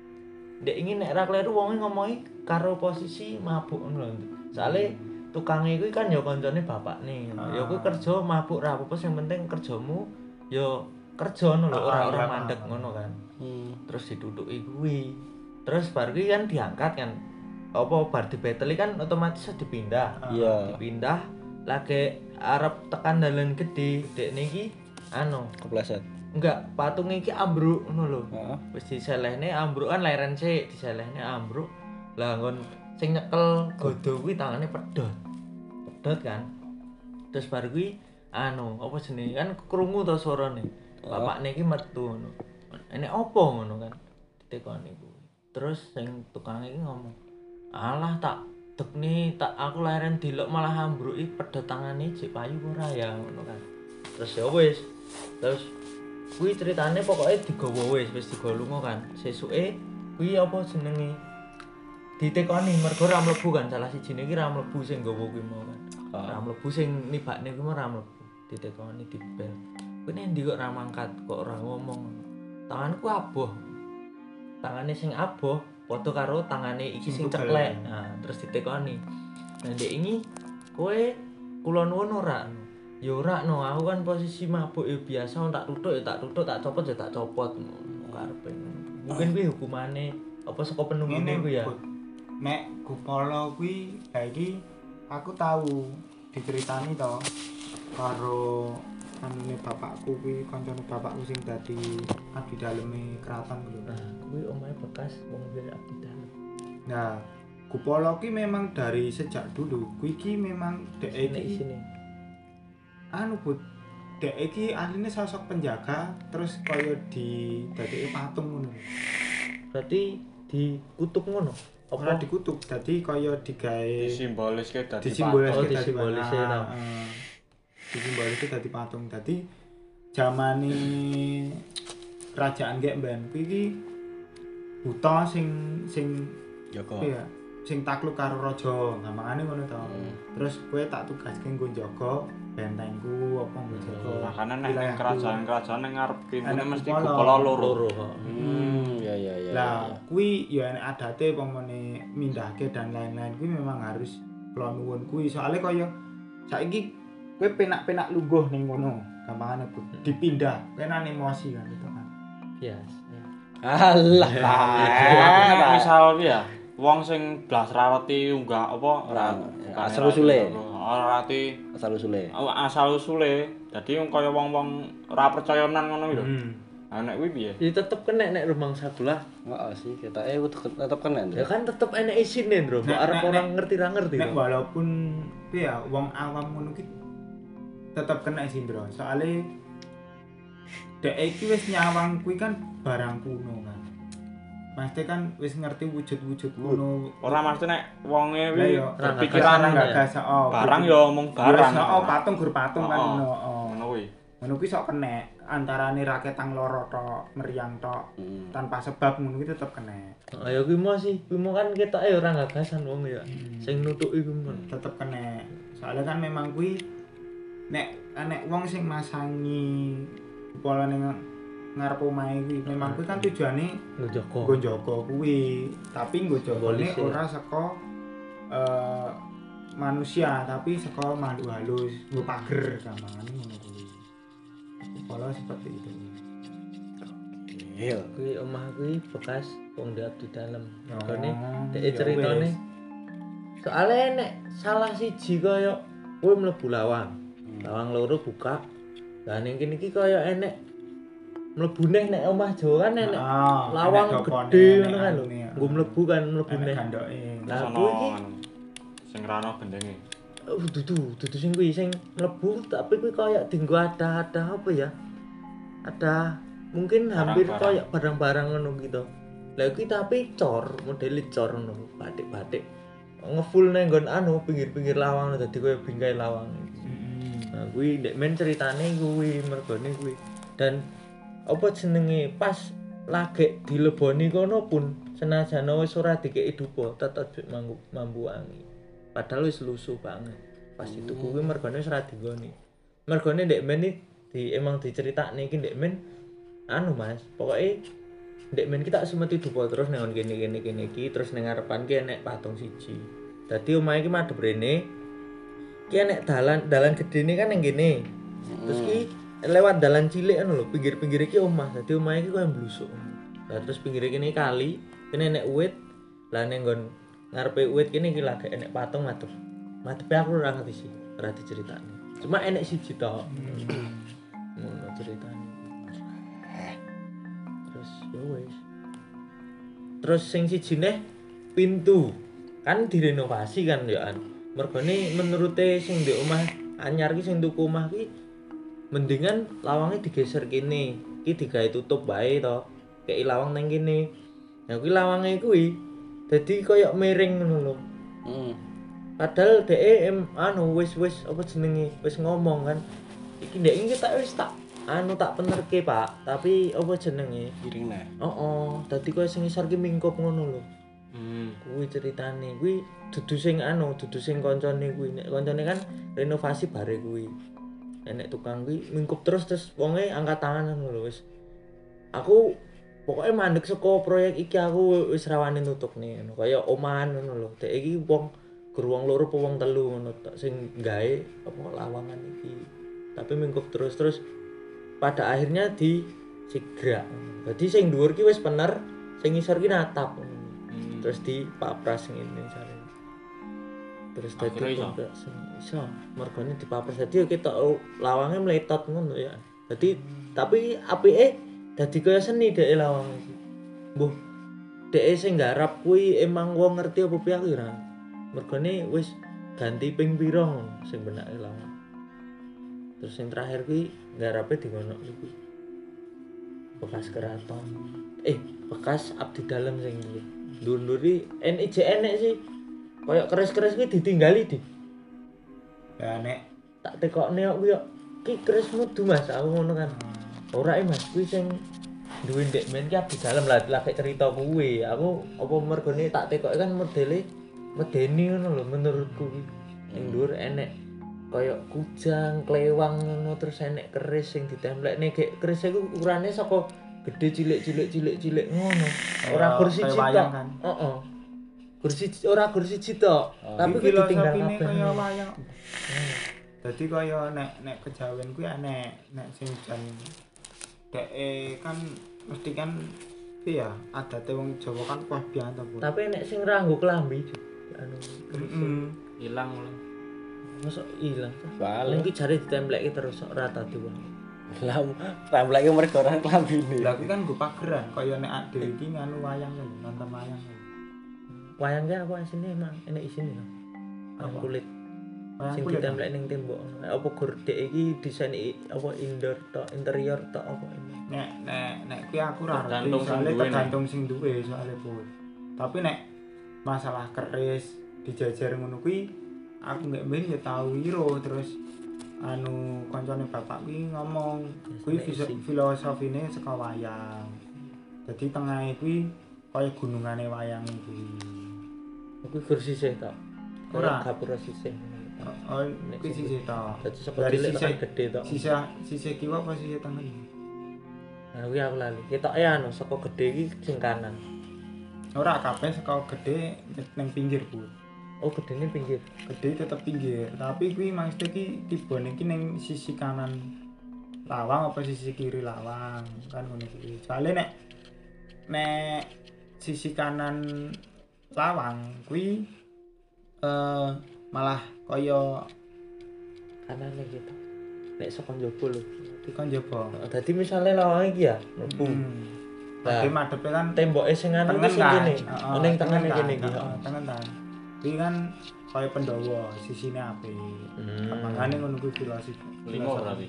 [SPEAKER 2] ndek ingin nek ra kleru wonge ngomongi karo posisi mabuk ngono lho. Soale tukange kuwi kan ya kancane bapakne. Ya kuwi kerja mabuk ra apa-apa sing penting kerjamu ya kerja ngono lho, ora mandek ngono kan. Terus ditutuki kuwi. Terus bar kuwi kan diangkat kan. Apa bar dibeteli kan otomatis dipindah.
[SPEAKER 1] Iya.
[SPEAKER 2] Dipindah lagi arep tekan dalan gede, dekne iki anu
[SPEAKER 1] Kepleset.
[SPEAKER 2] enggak patung iki ambruk ngono lho.
[SPEAKER 1] Heeh.
[SPEAKER 2] Wis diselehne ambruk kan leren sik, diselehne ambruk. Lah nggon sing nyekel godho kuwi tangane pedhot. Pedhot kan. Terus bar kuwi anu, apa jenenge kan krungu to suarane. Bapakne iki metu ngono. Enek apa ngono kan? Ditekoni kuwi. Terus sing tukang iki ngomong, "Alah tak dekne tak aku leren dilok malah ambruki pedhot tangane jek payu ora ya ngono kan." Terus ya wis. Terus kuwi ceritane pokoke digawa wis digawa lunga kan. Sesuke kuwi apa jenenge? Ditekoni mergo ra mlebu kan, salah sijine iki ra mlebu sing nggawa kuwi mau kan. Ra mlebu sing nibakne kuwi mau ra mlebu. Ditekoni dibel. Kuwi nek ndi kok ra mangkat, kok ora ngomong. Tanganku aboh. Tangane sing aboh padha karo tangane iki sing ceklek. Nah, terus ditekoni. Nah, ndek ini kowe kula nuwun ora? Ya ora no, aku kan posisi mabuk ya biasa tak tutuk ya tak tutuk, tak copot ya tak copot. Karepe. Mungkin kuwi hukumane apa saka penunggune kuwi ya.
[SPEAKER 4] Nek Gupolo kuwi ha iki aku tahu diceritani to karo anune bapakku kuwi kancane bapakku sing dadi abdi daleme keraton kuwi.
[SPEAKER 2] Nah, kuwi omahe bekas wong wis abdi dalem.
[SPEAKER 4] Nah, Gupolo ki memang dari sejak dulu kuwi ki memang dek iki
[SPEAKER 2] Sini.
[SPEAKER 4] anu Bud, dek iki asline sosok penjaga terus kaya di dadeke patung ngono.
[SPEAKER 2] Berarti dikutuk ngono.
[SPEAKER 4] Ora
[SPEAKER 2] Apa
[SPEAKER 4] dikutuk, dadi kaya digawe
[SPEAKER 3] Disimboliske dadi
[SPEAKER 4] disimbolisake
[SPEAKER 2] Oh,
[SPEAKER 4] dadi
[SPEAKER 2] disimbolisake
[SPEAKER 4] patung.
[SPEAKER 2] tau.
[SPEAKER 4] Disimbolisake dadi patung. Dadi zamane kerajaan gek mben kuwi iki buta sing
[SPEAKER 1] Joko.
[SPEAKER 4] apa ya? Sing takluk karo raja, gampangane ngono to. Terus kowe tak tugaske nggo jaga bentengku apa nggo jaga.
[SPEAKER 3] makane nek ning
[SPEAKER 4] wilayahku.
[SPEAKER 3] kerajaan-kerajaan ning ngarep kene
[SPEAKER 4] Enek
[SPEAKER 3] mesti
[SPEAKER 4] Gupolo.
[SPEAKER 3] Gupolo loro.
[SPEAKER 2] loro.
[SPEAKER 1] Ya ya ya.
[SPEAKER 4] Lah, kuwi ya enek adate pemene mindahke dan lain-lain kuwi memang harus kula nuwun kuwi. Soale kaya saiki kowe penak-penak lungguh ning kono, gampangane Bu. Dipindah, kowe nang emosi kan itu kan.
[SPEAKER 2] Yes.
[SPEAKER 1] Alah.
[SPEAKER 3] Nek misal piye ya, wong sing blas rawati unggah apa ora
[SPEAKER 1] asal usule.
[SPEAKER 3] Ora rati
[SPEAKER 1] Asal usule.
[SPEAKER 3] asal usule. Dadi kaya wong-wong ora percayanan ngono lho. Nah nek kuwi piye?
[SPEAKER 2] Ya tetep kena nek rumang sebelah.
[SPEAKER 1] Heeh sih, ketake tetep kena.
[SPEAKER 2] Ya kan tetep enek isine, Bro. Kok arep orang ngerti ra ngerti.
[SPEAKER 4] Nek walaupun piye ya wong awam ngono ki tetep kena sih, Bro. Soale dek iki wis nyawang kuwi kan barang kuno kan. Pasti kan wis ngerti wujud-wujud kuno.
[SPEAKER 3] Ora mesti nek wonge
[SPEAKER 4] Lah
[SPEAKER 3] kuwi
[SPEAKER 4] ya
[SPEAKER 3] berpikiran
[SPEAKER 4] enggak gas
[SPEAKER 3] barang ya omong barang.
[SPEAKER 4] Oh, patung gur patung kan ngono.
[SPEAKER 3] Ngono kuwi.
[SPEAKER 4] Ngono kuwi sok kena antarane raketang loro tok, meriang tok. Tanpa sebab ngono kuwi tetep kena.
[SPEAKER 2] Ayo kuwi mau sih, kuwi mau kan ketoke ora gagasan wong ya. Sing nutuki kuwi mau.
[SPEAKER 4] Tetep kena. Soalnya kan memang kuwi nek wong sing masangi pola ning ngarep omahe kuwi memang kuwi kan tujuane
[SPEAKER 2] Njoko.
[SPEAKER 4] nggo njaga kuwi, tapi nggo jagane
[SPEAKER 2] Simbolis, ya.
[SPEAKER 4] ora saka manusia tapi saka makhluk halus, nggo pager gampangane ngono kuwi. Pola seperti itu.
[SPEAKER 1] Iya.
[SPEAKER 2] Kuwi omah kuwi bekas wong di abdi dalem.
[SPEAKER 4] Oh,
[SPEAKER 2] Kene
[SPEAKER 4] ya
[SPEAKER 2] dhek ceritane.
[SPEAKER 4] wis.
[SPEAKER 2] Soale nek salah siji kaya kowe mlebu lawang. Lawang loro buka. Lah ning kene iki kaya enek mlebu neh nek omah Jawa kan enek lawang
[SPEAKER 4] enek dopone,
[SPEAKER 2] gede
[SPEAKER 4] enek
[SPEAKER 2] ngono kan lho.
[SPEAKER 4] anune,
[SPEAKER 2] Nggo mlebu kan mlebu
[SPEAKER 4] enek
[SPEAKER 2] neh.
[SPEAKER 4] gandoke.
[SPEAKER 2] Lah
[SPEAKER 3] Sono
[SPEAKER 2] kuwi iki
[SPEAKER 3] sing rano gendenge.
[SPEAKER 2] dudu sing kuwi sing mlebu tapi kuwi kaya dienggo ada apa ya? Ada mungkin hampir
[SPEAKER 3] Barang-barang.
[SPEAKER 2] kaya barang-barang ngono gitu. Lah kuwi tapi cor, modele cor ngono, batik-batik. Ngefull nang nggon pinggir-pinggir lawang dadi kaya bingkai lawang. Nah, kuwi ndek men ceritane kuwi mergone kuwi. Dan apa jenenge pas lagi dileboni kono pun senajan wis ora dikeki dupa tetep mambu wangi. Padahal wis lusuh banget. Pas itu kuwi mergone wis ora digoni. Mergone ndek men iki emang diceritakne iki ndek men Mas, pokoke ndek men kita semeti dupa terus nang kene iki terus ning ngarepan ki enek patung siji. Dadi omah iki madhep rene. Ki enek dalan gedene kan ning kene. Terus ki lewat dalan cilik ngono lho, pinggir-pinggir iki omah. Dadi omah iki koyo mblusuk. Lah terus pinggir kene kali, kene enek uwit. Lah ning nggon ngarepe uwit kene iki lagi enek patung madhep. Madhepe aku ora ngerti sih, ora diceritakne. Cuma enek siji tok. Ngono ceritane. Terus ya wis. Terus sing sijine pintu. Kan direnovasi kan ya an. Mergone menurute sing ndek omah anyar ki sing tuku omah ki mendingan lawangnya digeser kene. Ki digawe tutup bae to. Kei lawang nang kene. Nah kuwi lawange kuwi dadi koyo miring ngono lho. Padahal dhek wis apa jenenge wis ngomong kan. Iki ndek iki tak wis tak penerke, Pak. Tapi apa jenenge?
[SPEAKER 1] Piring nah.
[SPEAKER 2] Dadi koyo sing isor ki mingkup ngono lho. Kuwi ceritane. Kuwi dudu sing koncone kuwi. Nek koncone kan renovasi bare kuwi. Nek tukang kuwi mingkup terus wonge angkat tangan ngono lho wis. Aku pokoknya mandek saka proyek iki aku wis rawani nutupne ngono. Kaya omahan ngono lho. Dek iki wong wong loro apa wong telu ngono tok sing gawe apa lawangan iki. Tapi mingkup terus pada akhirnya di sigrak. Dadi sing dhuwur ki wis bener, sing ngisor ki natap. Terus di papras ngene jare. Terus dadi iso mergone dipapras dadi ketok lawange meletot ngono ya. Dadi tapi apike dadi kaya seni dhek lawang iki. Mbuh dhek sing garap kuwi emang wong ngerti apa piye aku ora. Mergone wis ganti ping pira sing benake lawang. Terus yang terakhir kuwi garape di ngono iki. Bekas keraton. Bekas abdi dalem sing iki. Ndur-nduri enek sih. Kayak keris-keris kuwi ditinggali di.
[SPEAKER 4] Ya nek
[SPEAKER 2] Tak tekokne kok kuwi ki kerismu du Mas, aku ngono kan. Ora Mas, kuwi sing duwe ndek men ki abdi dalem lah lagi cerita kuwi. Aku apa mergone tak tekoke kan modele medeni ngono lho menurutku kuwi. Ning dhuwur enek kaya kujang, klewang ngono terus enek keris sing ditemplekne gek keris iku ukurane saka gede cilik ngono. Ora gur siji tok. Heeh. Ora gur siji tok. Tapi kuwi ditinggal kabeh.
[SPEAKER 4] Kaya wayang. Dadi kaya nek kejawen kuwi enek nek sing jan dek kan mesti kan piye ya adate wong Jawa kan kuah biyen to.
[SPEAKER 2] Tapi nek sing ora nggo klambi
[SPEAKER 3] Ilang lho.
[SPEAKER 2] Mosok ilang.
[SPEAKER 1] Balik.
[SPEAKER 2] Iki jare ditemplekke terus ora tadi wong.
[SPEAKER 1] Lah templeke mergo ora klambine.
[SPEAKER 4] Lah kuwi kan nggo pageran kaya nek ade iki nganu wayang lho, nonton wayang.
[SPEAKER 2] Wayang ki apa isine emang enek isine lho.
[SPEAKER 4] Apa?
[SPEAKER 2] Kulit
[SPEAKER 4] Wayang
[SPEAKER 2] sing
[SPEAKER 4] kulit.
[SPEAKER 2] ditemplek ning tembok. Apa gordek iki desain apa interior tok apa ini.
[SPEAKER 4] Nek kuwi aku ora ngerti
[SPEAKER 3] Tergantung sing
[SPEAKER 4] soalnya
[SPEAKER 3] duwe,
[SPEAKER 4] tergantung sing duwe soalnya pun. Tapi nek masalah keris dijajar ngono kuwi aku nggak ben ya tau iro terus kancane bapak kuwi ngomong kuwi filosofine saka wayang. Dadi tengahe kuwi kaya gunungane wayang kuwi.
[SPEAKER 2] Kuwi kursi sih tok.
[SPEAKER 4] Ora.
[SPEAKER 2] Gapura sisih.
[SPEAKER 4] Oh, kuwi sisih ta.
[SPEAKER 2] Dadi saka cilik tekan gede tok.
[SPEAKER 4] Sisih kiwa apa sisih tengen?
[SPEAKER 2] Nah kuwi aku lali. Ketoke saka gede iki sing kanan.
[SPEAKER 4] Ora kabeh saka gede ning pinggir, Bu.
[SPEAKER 2] Oh, gedene pinggir.
[SPEAKER 4] Gede tetep pinggir, tapi kuwi maksudnya ki tibone iki ning sisi kanan lawang apa sisi kiri lawang kan ngono kuwi. Soale nek sisi kanan lawang kuwi malah kaya
[SPEAKER 2] Kanane gitu. Nek saka njaba lho.
[SPEAKER 4] kon jaba.
[SPEAKER 2] Dadi misale lawange iki ya mlebu. Nah,
[SPEAKER 4] Tapi madepe kan
[SPEAKER 2] Temboke sing anu
[SPEAKER 4] tengen
[SPEAKER 2] iki sing
[SPEAKER 4] kan.
[SPEAKER 2] kene.
[SPEAKER 4] Heeh,
[SPEAKER 2] Ning
[SPEAKER 4] tengen
[SPEAKER 2] tengene
[SPEAKER 4] kan,
[SPEAKER 2] kene iki.
[SPEAKER 4] heeh, tengen kan. Kuwi kan kaya Pendowo, sisine apik. Makane ngono kuwi filosofi.
[SPEAKER 3] 5 berarti.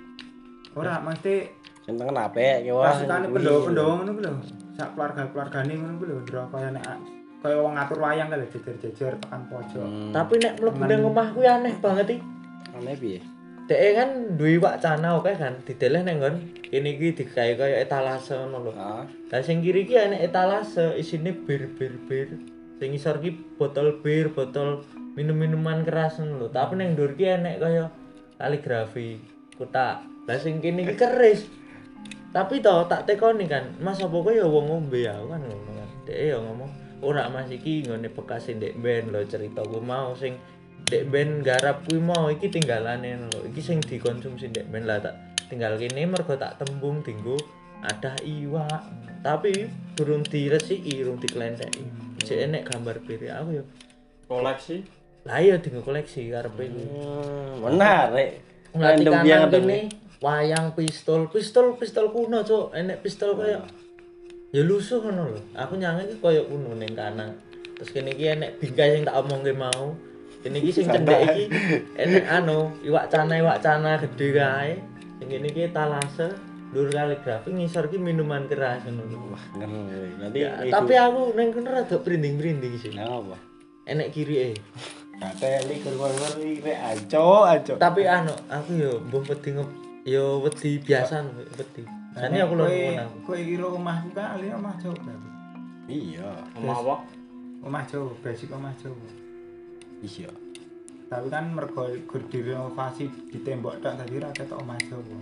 [SPEAKER 4] Ora mesti
[SPEAKER 1] Sing tengen apik ki wah.
[SPEAKER 4] pasukane Pendowo-Pendowo ngono kuwi lho. Sak keluarga-keluargane ngono kuwi lho, ndra kaya nek kaya wong ngatur wayang kan lho jejer-jejer tekan pojok.
[SPEAKER 2] Tapi nek mlebu ning omah kuwi aneh banget iki.
[SPEAKER 1] Aneh piye?
[SPEAKER 2] Dhek kan duwe wacana oke kan dideleh nang nggon kene iki digawe kaya etalase ngono lho.
[SPEAKER 1] Heeh.
[SPEAKER 2] Lah sing kiri iki enek etalase isine bir. Sing isor iki botol bir, botol minum-minuman keras ngono lho. Tapi ning ndur iki enek kaya kaligrafi, kotak. Lah sing kene iki keris. Tapi toh tak tekoni kan, Mas apa kowe ya wong ngombe ya kan ngono kan. Dhek ya ngomong, ora Mas iki nggone bekas ndek ben lho ceritaku mau sing ndek ben garap kuwi mau iki tinggalane lho. Iki sing dikonsumsi ndek ben lah tak tinggal kene mergo tak tembung dinggo adah iwak. Tapi durung diresiki, durung diklentheki. Jek enek gambar bir aku ya.
[SPEAKER 3] Koleksi
[SPEAKER 2] Lah iya dinggo koleksi karepe kuwi.
[SPEAKER 1] Menarik.
[SPEAKER 2] Nglati
[SPEAKER 1] Random
[SPEAKER 2] kanan
[SPEAKER 1] banget
[SPEAKER 2] kene wayang pistol kuno cuk, enek pistol kaya ya lusuh ngono lho. Aku nyange iki kaya kuno ning kanan. Terus kene iki enek bingkai sing tak omongke mau. Kene iki sing cendhek iki enek anu, iwak cana gede kae. Sing kene iki talase, lur kaligrafi ngisor iki minuman keras ngono lho.
[SPEAKER 1] Wah, ngeri. Nanti
[SPEAKER 2] Ya, tapi aku ning kene rada brinding-brinding sih.
[SPEAKER 1] Nah, apa?
[SPEAKER 2] Enek kirike.
[SPEAKER 1] Kate iki kur-kur iki aco.
[SPEAKER 2] Tapi anu, aku yo mbuh wedi biasa wedi. Jane aku lho ngono.
[SPEAKER 4] Kowe kira omahku kan ali omah Jawa berarti.
[SPEAKER 1] Iya.
[SPEAKER 3] omah apa?
[SPEAKER 4] Omah Jawa, basic omah Jawa.
[SPEAKER 1] Iya.
[SPEAKER 4] Tapi kan mergo gur direnovasi di tembok tok dadi ra ketok omah Jawa.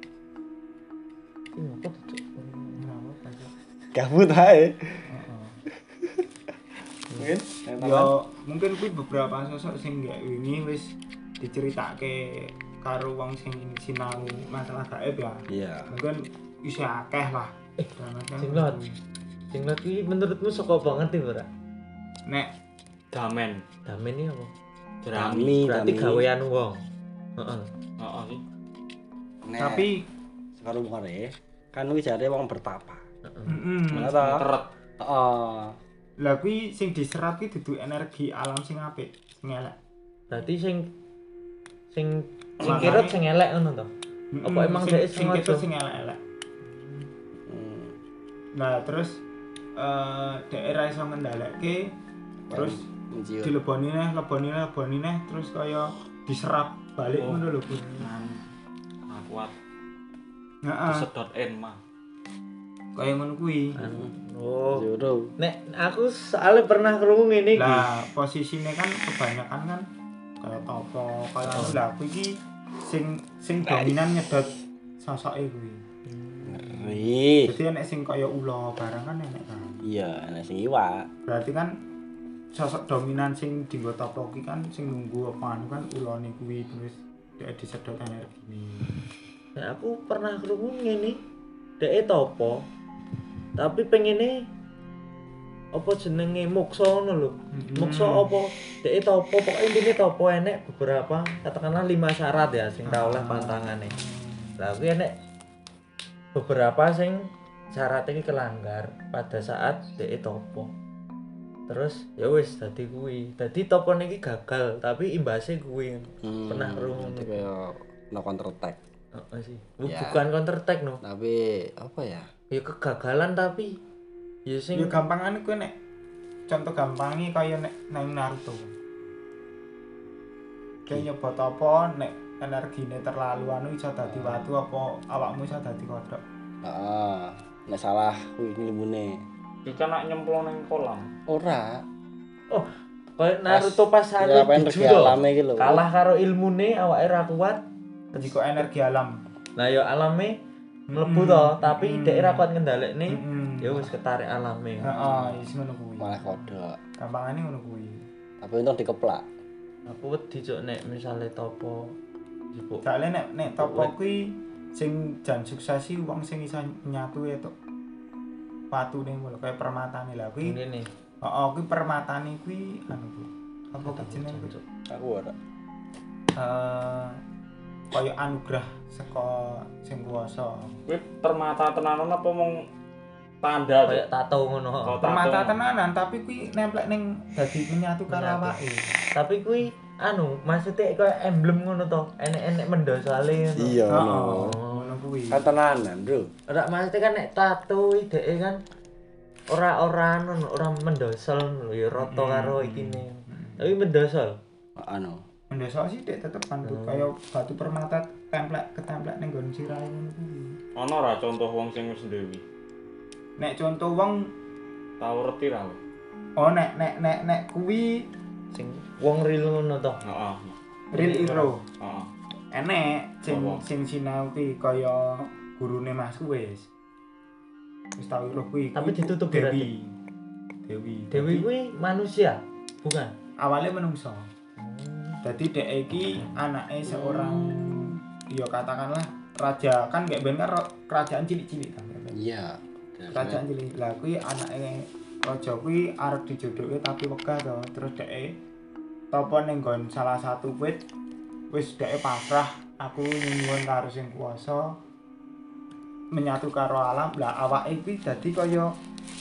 [SPEAKER 2] Iki ngopo cuk?
[SPEAKER 4] Kenapa Pak?
[SPEAKER 1] Kabut ae.
[SPEAKER 4] Heeh.
[SPEAKER 1] Mungkin
[SPEAKER 4] Mungkin kuwi beberapa sosok sing gak wingi wis diceritake karo wong sing sinau masalah gaib ya.
[SPEAKER 1] Iya.
[SPEAKER 4] Mungkin isih akeh lah.
[SPEAKER 2] Singlot. Singlot iki menurutmu saka banget iki ora?
[SPEAKER 4] Nek
[SPEAKER 3] Damen.
[SPEAKER 2] Damen iki apa?
[SPEAKER 3] Jerami.
[SPEAKER 2] Berarti gawean wong. Heeh.
[SPEAKER 3] Heeh sih.
[SPEAKER 4] tapi
[SPEAKER 1] sekarang kare kan kuwi jare wong bertapa.
[SPEAKER 4] heeh.
[SPEAKER 1] Mana ta?
[SPEAKER 3] Teret.
[SPEAKER 1] Heeh.
[SPEAKER 4] Lah kuwi sing diserap ki dudu energi alam sing apik, sing elek.
[SPEAKER 2] Berarti sing kirut sing elek ngono to. Apa emang dhek
[SPEAKER 4] sing
[SPEAKER 2] sengaja?
[SPEAKER 4] ketok sing elek-elek. Nah, terus daerah iso ngendhaleke terus
[SPEAKER 1] Mencium.
[SPEAKER 4] dileboni neh terus kaya diserap balik ngono lho, Bun.
[SPEAKER 3] Nah, kuat.
[SPEAKER 4] Heeh,
[SPEAKER 3] Sedot en mah.
[SPEAKER 4] kaya ngono kuwi.
[SPEAKER 2] Oh.
[SPEAKER 1] Juru.
[SPEAKER 2] Nek aku soalnya pernah krungu ngene iki.
[SPEAKER 4] Lah, posisine kan kebanyakan kan kaya topo, kaya anu lah kuwi iki sing dominan nyedot sosoke kuwi.
[SPEAKER 1] Ngeri.
[SPEAKER 4] Jadi enek sing kaya ula barang kan enek kan.
[SPEAKER 1] Iya, ana sing iwak.
[SPEAKER 4] Berarti kan sosok dominan sing dienggo topo ki kan sing nunggu apa anu kan ulane kuwi terus dia disedot energine.
[SPEAKER 2] Nek aku pernah krungu ngene. Dek topo. Tapi pengene apa jenenge moksa ngono lho. Moksa apa? Dek topo pokoke intine topo enek beberapa katakanlah 5 syarat ya sing tak oleh pantangane. Lah kuwi enek beberapa sing syarat iki kelanggar pada saat dek topo. Terus ya wis dadi kuwi. Dadi topo niki gagal tapi imbase kuwi. Pernah krungu
[SPEAKER 1] Itu kayak no counter attack.
[SPEAKER 2] Heeh sih.
[SPEAKER 1] Ya.
[SPEAKER 2] Bukan counter attack no.
[SPEAKER 1] Tapi apa ya?
[SPEAKER 2] Ya kegagalan tapi ya sing
[SPEAKER 4] Ya gampangane kuwi nek contoh gampangi kaya nek nang Naruto. Kayak nyebut apa nek energine terlalu anu iso dadi watu apa awakmu iso dadi kodhok.
[SPEAKER 1] Heeh. Nek salah kuwi nglimune.
[SPEAKER 3] Iki kan nak nyemplung ning kolam.
[SPEAKER 1] Ora.
[SPEAKER 2] oh kayak Naruto pas
[SPEAKER 1] Ya
[SPEAKER 2] anu
[SPEAKER 1] apa energi
[SPEAKER 2] dijudo.
[SPEAKER 1] alame iki lho.
[SPEAKER 2] Kalah karo ilmune awake ra kuat.
[SPEAKER 4] Jadi kok energi alam.
[SPEAKER 2] Lah ya alame mlebu to, tapi dhek ra kuat ngendhalekne.
[SPEAKER 4] Heeh.
[SPEAKER 2] Ya wis ketarik alame.
[SPEAKER 4] Heeh, wis ngono kuwi.
[SPEAKER 1] Malah kodok.
[SPEAKER 4] Gampangane ngono kuwi.
[SPEAKER 1] Tapi untung dikeplak.
[SPEAKER 2] Aku wedi cuk nek misale topo jebuk.
[SPEAKER 4] Soalnya nek topo kuwi sing jan sukses sih wong sing iso nyatu itu patune lho kaya permatane lah kuwi.
[SPEAKER 2] Ngene.
[SPEAKER 4] Heeh, kuwi permatane kuwi anu Bu. Apa jenenge
[SPEAKER 2] cuk.
[SPEAKER 1] Aku ora.
[SPEAKER 4] Kaya anugerah saka sing kuwasa.
[SPEAKER 3] Kuwi permata tenanan apa mung tanda
[SPEAKER 2] Kayak tato ngono.
[SPEAKER 3] Oh,
[SPEAKER 4] Permata
[SPEAKER 3] tato.
[SPEAKER 4] tenanan tapi kuwi nemplek ning dadi menyatu karo
[SPEAKER 2] Menyatu.
[SPEAKER 4] awake.
[SPEAKER 2] Tapi kuwi maksudnya kayak emblem ngono to. Enek-enek mendosale ngono.
[SPEAKER 1] Iya
[SPEAKER 4] Heeh,
[SPEAKER 1] ngono.
[SPEAKER 4] ngono kuwi.
[SPEAKER 1] Kan tenanan, Bro.
[SPEAKER 2] Ora maksudnya kan nek tato dheke kan ora mendosol lho ya rata karo ikine. Tapi mendosol.
[SPEAKER 1] Anu.
[SPEAKER 4] Mendesok sih dek tetep kan kaya batu permata ketemplek ning nggon sirahe ngono kuwi.
[SPEAKER 3] Ana ora contoh wong sing wis ndewi?
[SPEAKER 4] Nek contoh wong
[SPEAKER 3] Tau reti ra?
[SPEAKER 4] oh nek kuwi
[SPEAKER 2] Sing wong real ngono to.
[SPEAKER 3] Heeh.
[SPEAKER 4] real hero.
[SPEAKER 3] Heeh.
[SPEAKER 4] Enek
[SPEAKER 3] Apa?
[SPEAKER 4] sing sinau kuwi kaya gurune Mas wis. Wis tau iruh kuwi.
[SPEAKER 2] Tapi
[SPEAKER 4] Kuwi
[SPEAKER 2] ditutup
[SPEAKER 4] Dewi.
[SPEAKER 2] Dewi
[SPEAKER 4] Dewi
[SPEAKER 2] kuwi manusia, bukan?
[SPEAKER 4] awalnya menungso. Jadi dek iki anake seorang ya katakanlah raja kan gak ben kan kerajaan cilik-cilik kan.
[SPEAKER 1] Iya.
[SPEAKER 4] Kerajaan cilik. Lah kuwi anake raja kuwi arep dijodohke tapi wegah to. Terus dek topo ning nggon salah satu wit wis dek pasrah aku nyuwun karo sing kuwasa menyatu karo alam. Lah awake kuwi dadi kaya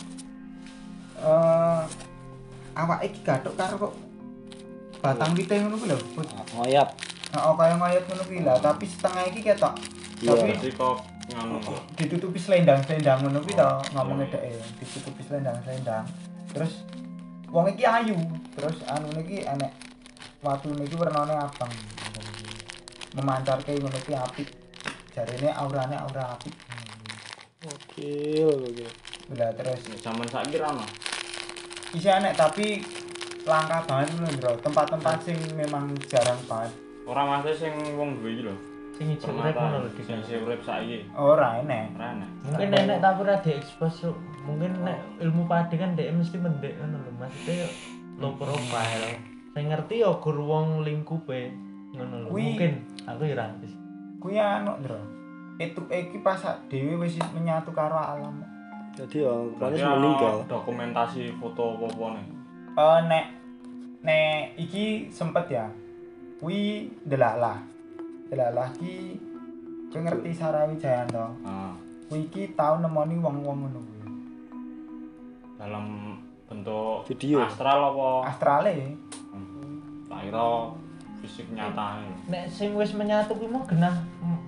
[SPEAKER 4] awake iki gathuk karo kok batang wite ngono kuwi lho.
[SPEAKER 1] Ngoyap.
[SPEAKER 4] Heeh kaya ngoyot ngono kuwi lah, tapi setengah iki ketok.
[SPEAKER 1] Iya.
[SPEAKER 4] Tapi
[SPEAKER 3] Jadi kok nganu kok.
[SPEAKER 4] ditutupi selendang-selendang ngono kuwi to ngomongnya dhek. Ditutupi selendang-selendang. Terus wong iki ayu. Terus anu niki enek watune iki wernane abang. Memancarke ngono kuwi apik. Jarene aurane aura apik.
[SPEAKER 1] Oke.
[SPEAKER 4] Lah terus
[SPEAKER 3] Zaman saiki ra ono.
[SPEAKER 4] isih enek tapi langka banget lho, Bro. Tempat-tempat sing memang jarang banget.
[SPEAKER 3] Ora mesti sing wong duwe iki lho.
[SPEAKER 2] Sing ijo urip ngono lho
[SPEAKER 3] Sing
[SPEAKER 2] Dik.
[SPEAKER 3] isih urip saiki.
[SPEAKER 4] Ora enek.
[SPEAKER 3] Ora enak.
[SPEAKER 2] Mungkin nenek tapi ora diekspos Cuk. Mungkin nek ilmu padi kan dhek mesti mendek ngono lho. Maksudnya yo low profile. Sing ngerti yo gur wong lingkupe ngono lho.
[SPEAKER 4] Kuwi-
[SPEAKER 2] Mungkin aku yo ora ngerti.
[SPEAKER 4] Kuwi anu, Bro. Itu iki pas dhewe wis menyatu karo alam.
[SPEAKER 1] Jadi ya,
[SPEAKER 3] Berarti
[SPEAKER 1] paling meninggal.
[SPEAKER 3] ono dokumentasi foto apa-apa nih.
[SPEAKER 4] Nek iki sempet ya. Kuwi delalah. Delalah ki kowe ngerti Sarawi Jayanto.
[SPEAKER 3] Nah,
[SPEAKER 4] Kuwi iki tau nemoni wong-wong ngono kuwi.
[SPEAKER 3] dalam bentuk
[SPEAKER 1] Video.
[SPEAKER 3] astral apa?
[SPEAKER 4] Astrale.
[SPEAKER 3] Tak kira fisik nyata nih.
[SPEAKER 2] Nek sing wis menyatu kuwi mau genah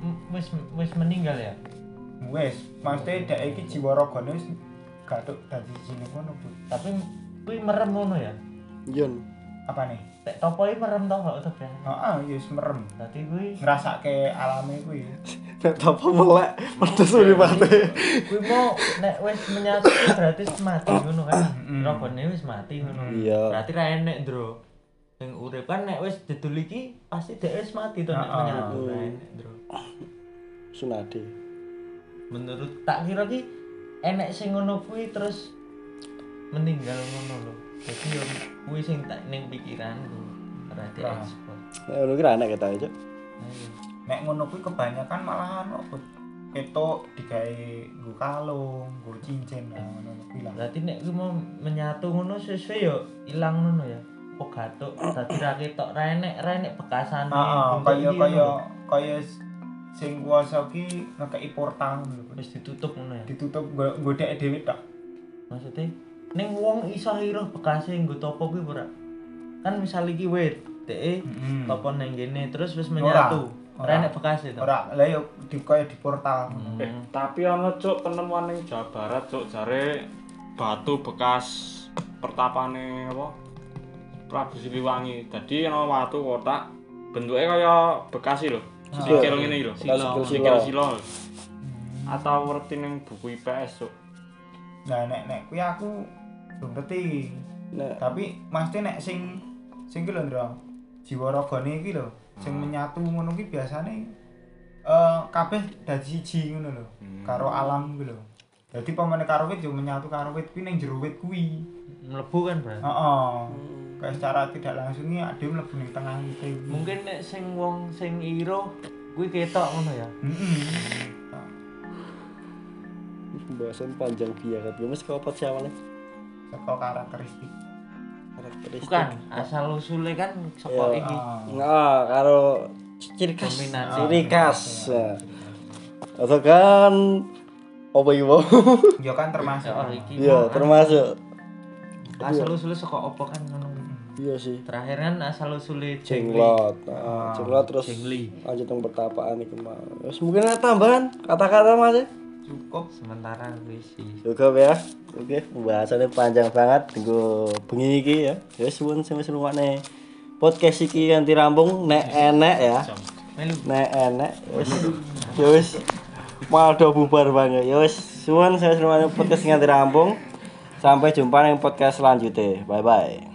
[SPEAKER 2] wis meninggal ya.
[SPEAKER 4] Wis, maksudnya dek iki jiwa ragane wis gathuk dadi sini ngono, Bu.
[SPEAKER 2] Tapi kuwi merem ngono ya.
[SPEAKER 1] Yon.
[SPEAKER 4] Apa nih?
[SPEAKER 2] Tek topoe merem to kok to kan.
[SPEAKER 4] Heeh, ya wis merem.
[SPEAKER 2] Dadi kuwi
[SPEAKER 4] Ngrasake alame kuwi.
[SPEAKER 1] Nek apa melek, pedes uripate.
[SPEAKER 2] kuwi mau nek wis menyatu kuwi berarti wis mati ngono kan. Ragane wis mati ngono.
[SPEAKER 1] Iya.
[SPEAKER 2] Berarti ra enek, Ndro. Sing urip kan nek wis didul iki pasti dhek wis mati to nek
[SPEAKER 4] Heeh.
[SPEAKER 2] menyatu ra enek, Ndro.
[SPEAKER 1] Sunade.
[SPEAKER 2] Menurut tak kira ki enek sing ngono kuwi terus meninggal ngono lho. Jadi yo kuwi sing tak ning pikiranku. Ora diekspos.
[SPEAKER 1] Nek ngono ki ra enak kita aja.
[SPEAKER 2] Ayo.
[SPEAKER 4] Nek ngono kuwi kebanyakan malahan opo? Ketok digawe nggo kalung, nggo cincin nah ngono kuwi lah.
[SPEAKER 2] Berarti nek kuwi mau menyatu ngono sesuai yo ilang ngono ya. Kok gatuk dadi ra ketok ra enek bekasane.
[SPEAKER 4] Heeh,
[SPEAKER 2] Untuk iki ngono.
[SPEAKER 4] kaya sing kuwasa ki ngekeki portal lho.
[SPEAKER 2] Wis ditutup ngono ya.
[SPEAKER 4] Ditutup nggo dhek dhewe tok.
[SPEAKER 2] Maksudnya ning wong iso iruh bekase nggo topo kuwi ora. Kan misal iki wit, dhek topo nang kene terus wis menyatu. Ora enek bekase to.
[SPEAKER 4] Ora, lah yo kaya di portal.
[SPEAKER 3] Tapi ana cuk penemuan ning Jawa Barat cuk jare batu bekas pertapane apa? Prabu Siliwangi. Dadi ana watu kotak bentuke kaya Bekasi lho. Sikil ngene iki lho. Sikil silo. Atau ngerti ning buku IPS cuk.
[SPEAKER 4] Nah nek kuwi aku belum ngerti.
[SPEAKER 1] Nek
[SPEAKER 4] Tapi mesti nek sing ki lho, Ndro. Jiwa ragane iki lho, sing menyatu ngono ki biasane kabeh dadi siji ngono lho, karo alam kuwi lho. Dadi pamane karo wit yo menyatu karo wit kuwi ning jero wit kuwi.
[SPEAKER 2] Mlebu kan, Bro.
[SPEAKER 4] Heeh. kayak secara tidak langsungnya ada mlebu ning tengah kita.
[SPEAKER 2] Mungkin nek sing wong sing iro kuwi ketok ngono ya.
[SPEAKER 1] Pembahasan panjang banget. Mas kok apa sih awalnya?
[SPEAKER 4] Saka karakteristik.
[SPEAKER 2] Bukan, asal usule kan saka iki.
[SPEAKER 1] Nah, karo ciri khas.
[SPEAKER 2] Dominasi.
[SPEAKER 1] Ciri khas. Atau kan apa iki mau?
[SPEAKER 4] Ya kan termasuk.
[SPEAKER 2] Oh, iki.
[SPEAKER 1] Iya, termasuk.
[SPEAKER 2] Asal usule saka apa kan ngono.
[SPEAKER 1] Iya sih.
[SPEAKER 2] Terakhir kan asal usule
[SPEAKER 1] Jenglot. Jenglot terus
[SPEAKER 2] Jengli.
[SPEAKER 1] lanjut yang pertapaan iki mau. Terus mungkin ada tambahan kata-kata Mas.
[SPEAKER 4] Cukup
[SPEAKER 2] Sementara wis sih.
[SPEAKER 1] Cukup ya. Oke, pembahasannya panjang banget nggo bengi iki ya. Ya suwun sing wis ngrungokne podcast iki ganti rampung nek enek ya.
[SPEAKER 2] Melu.
[SPEAKER 1] Nek enek wis ya wis maldo bubar banget. Ya wis suwun saya ngrungokne podcast ganti rampung. Sampai jumpa di podcast selanjutnya. Bye bye.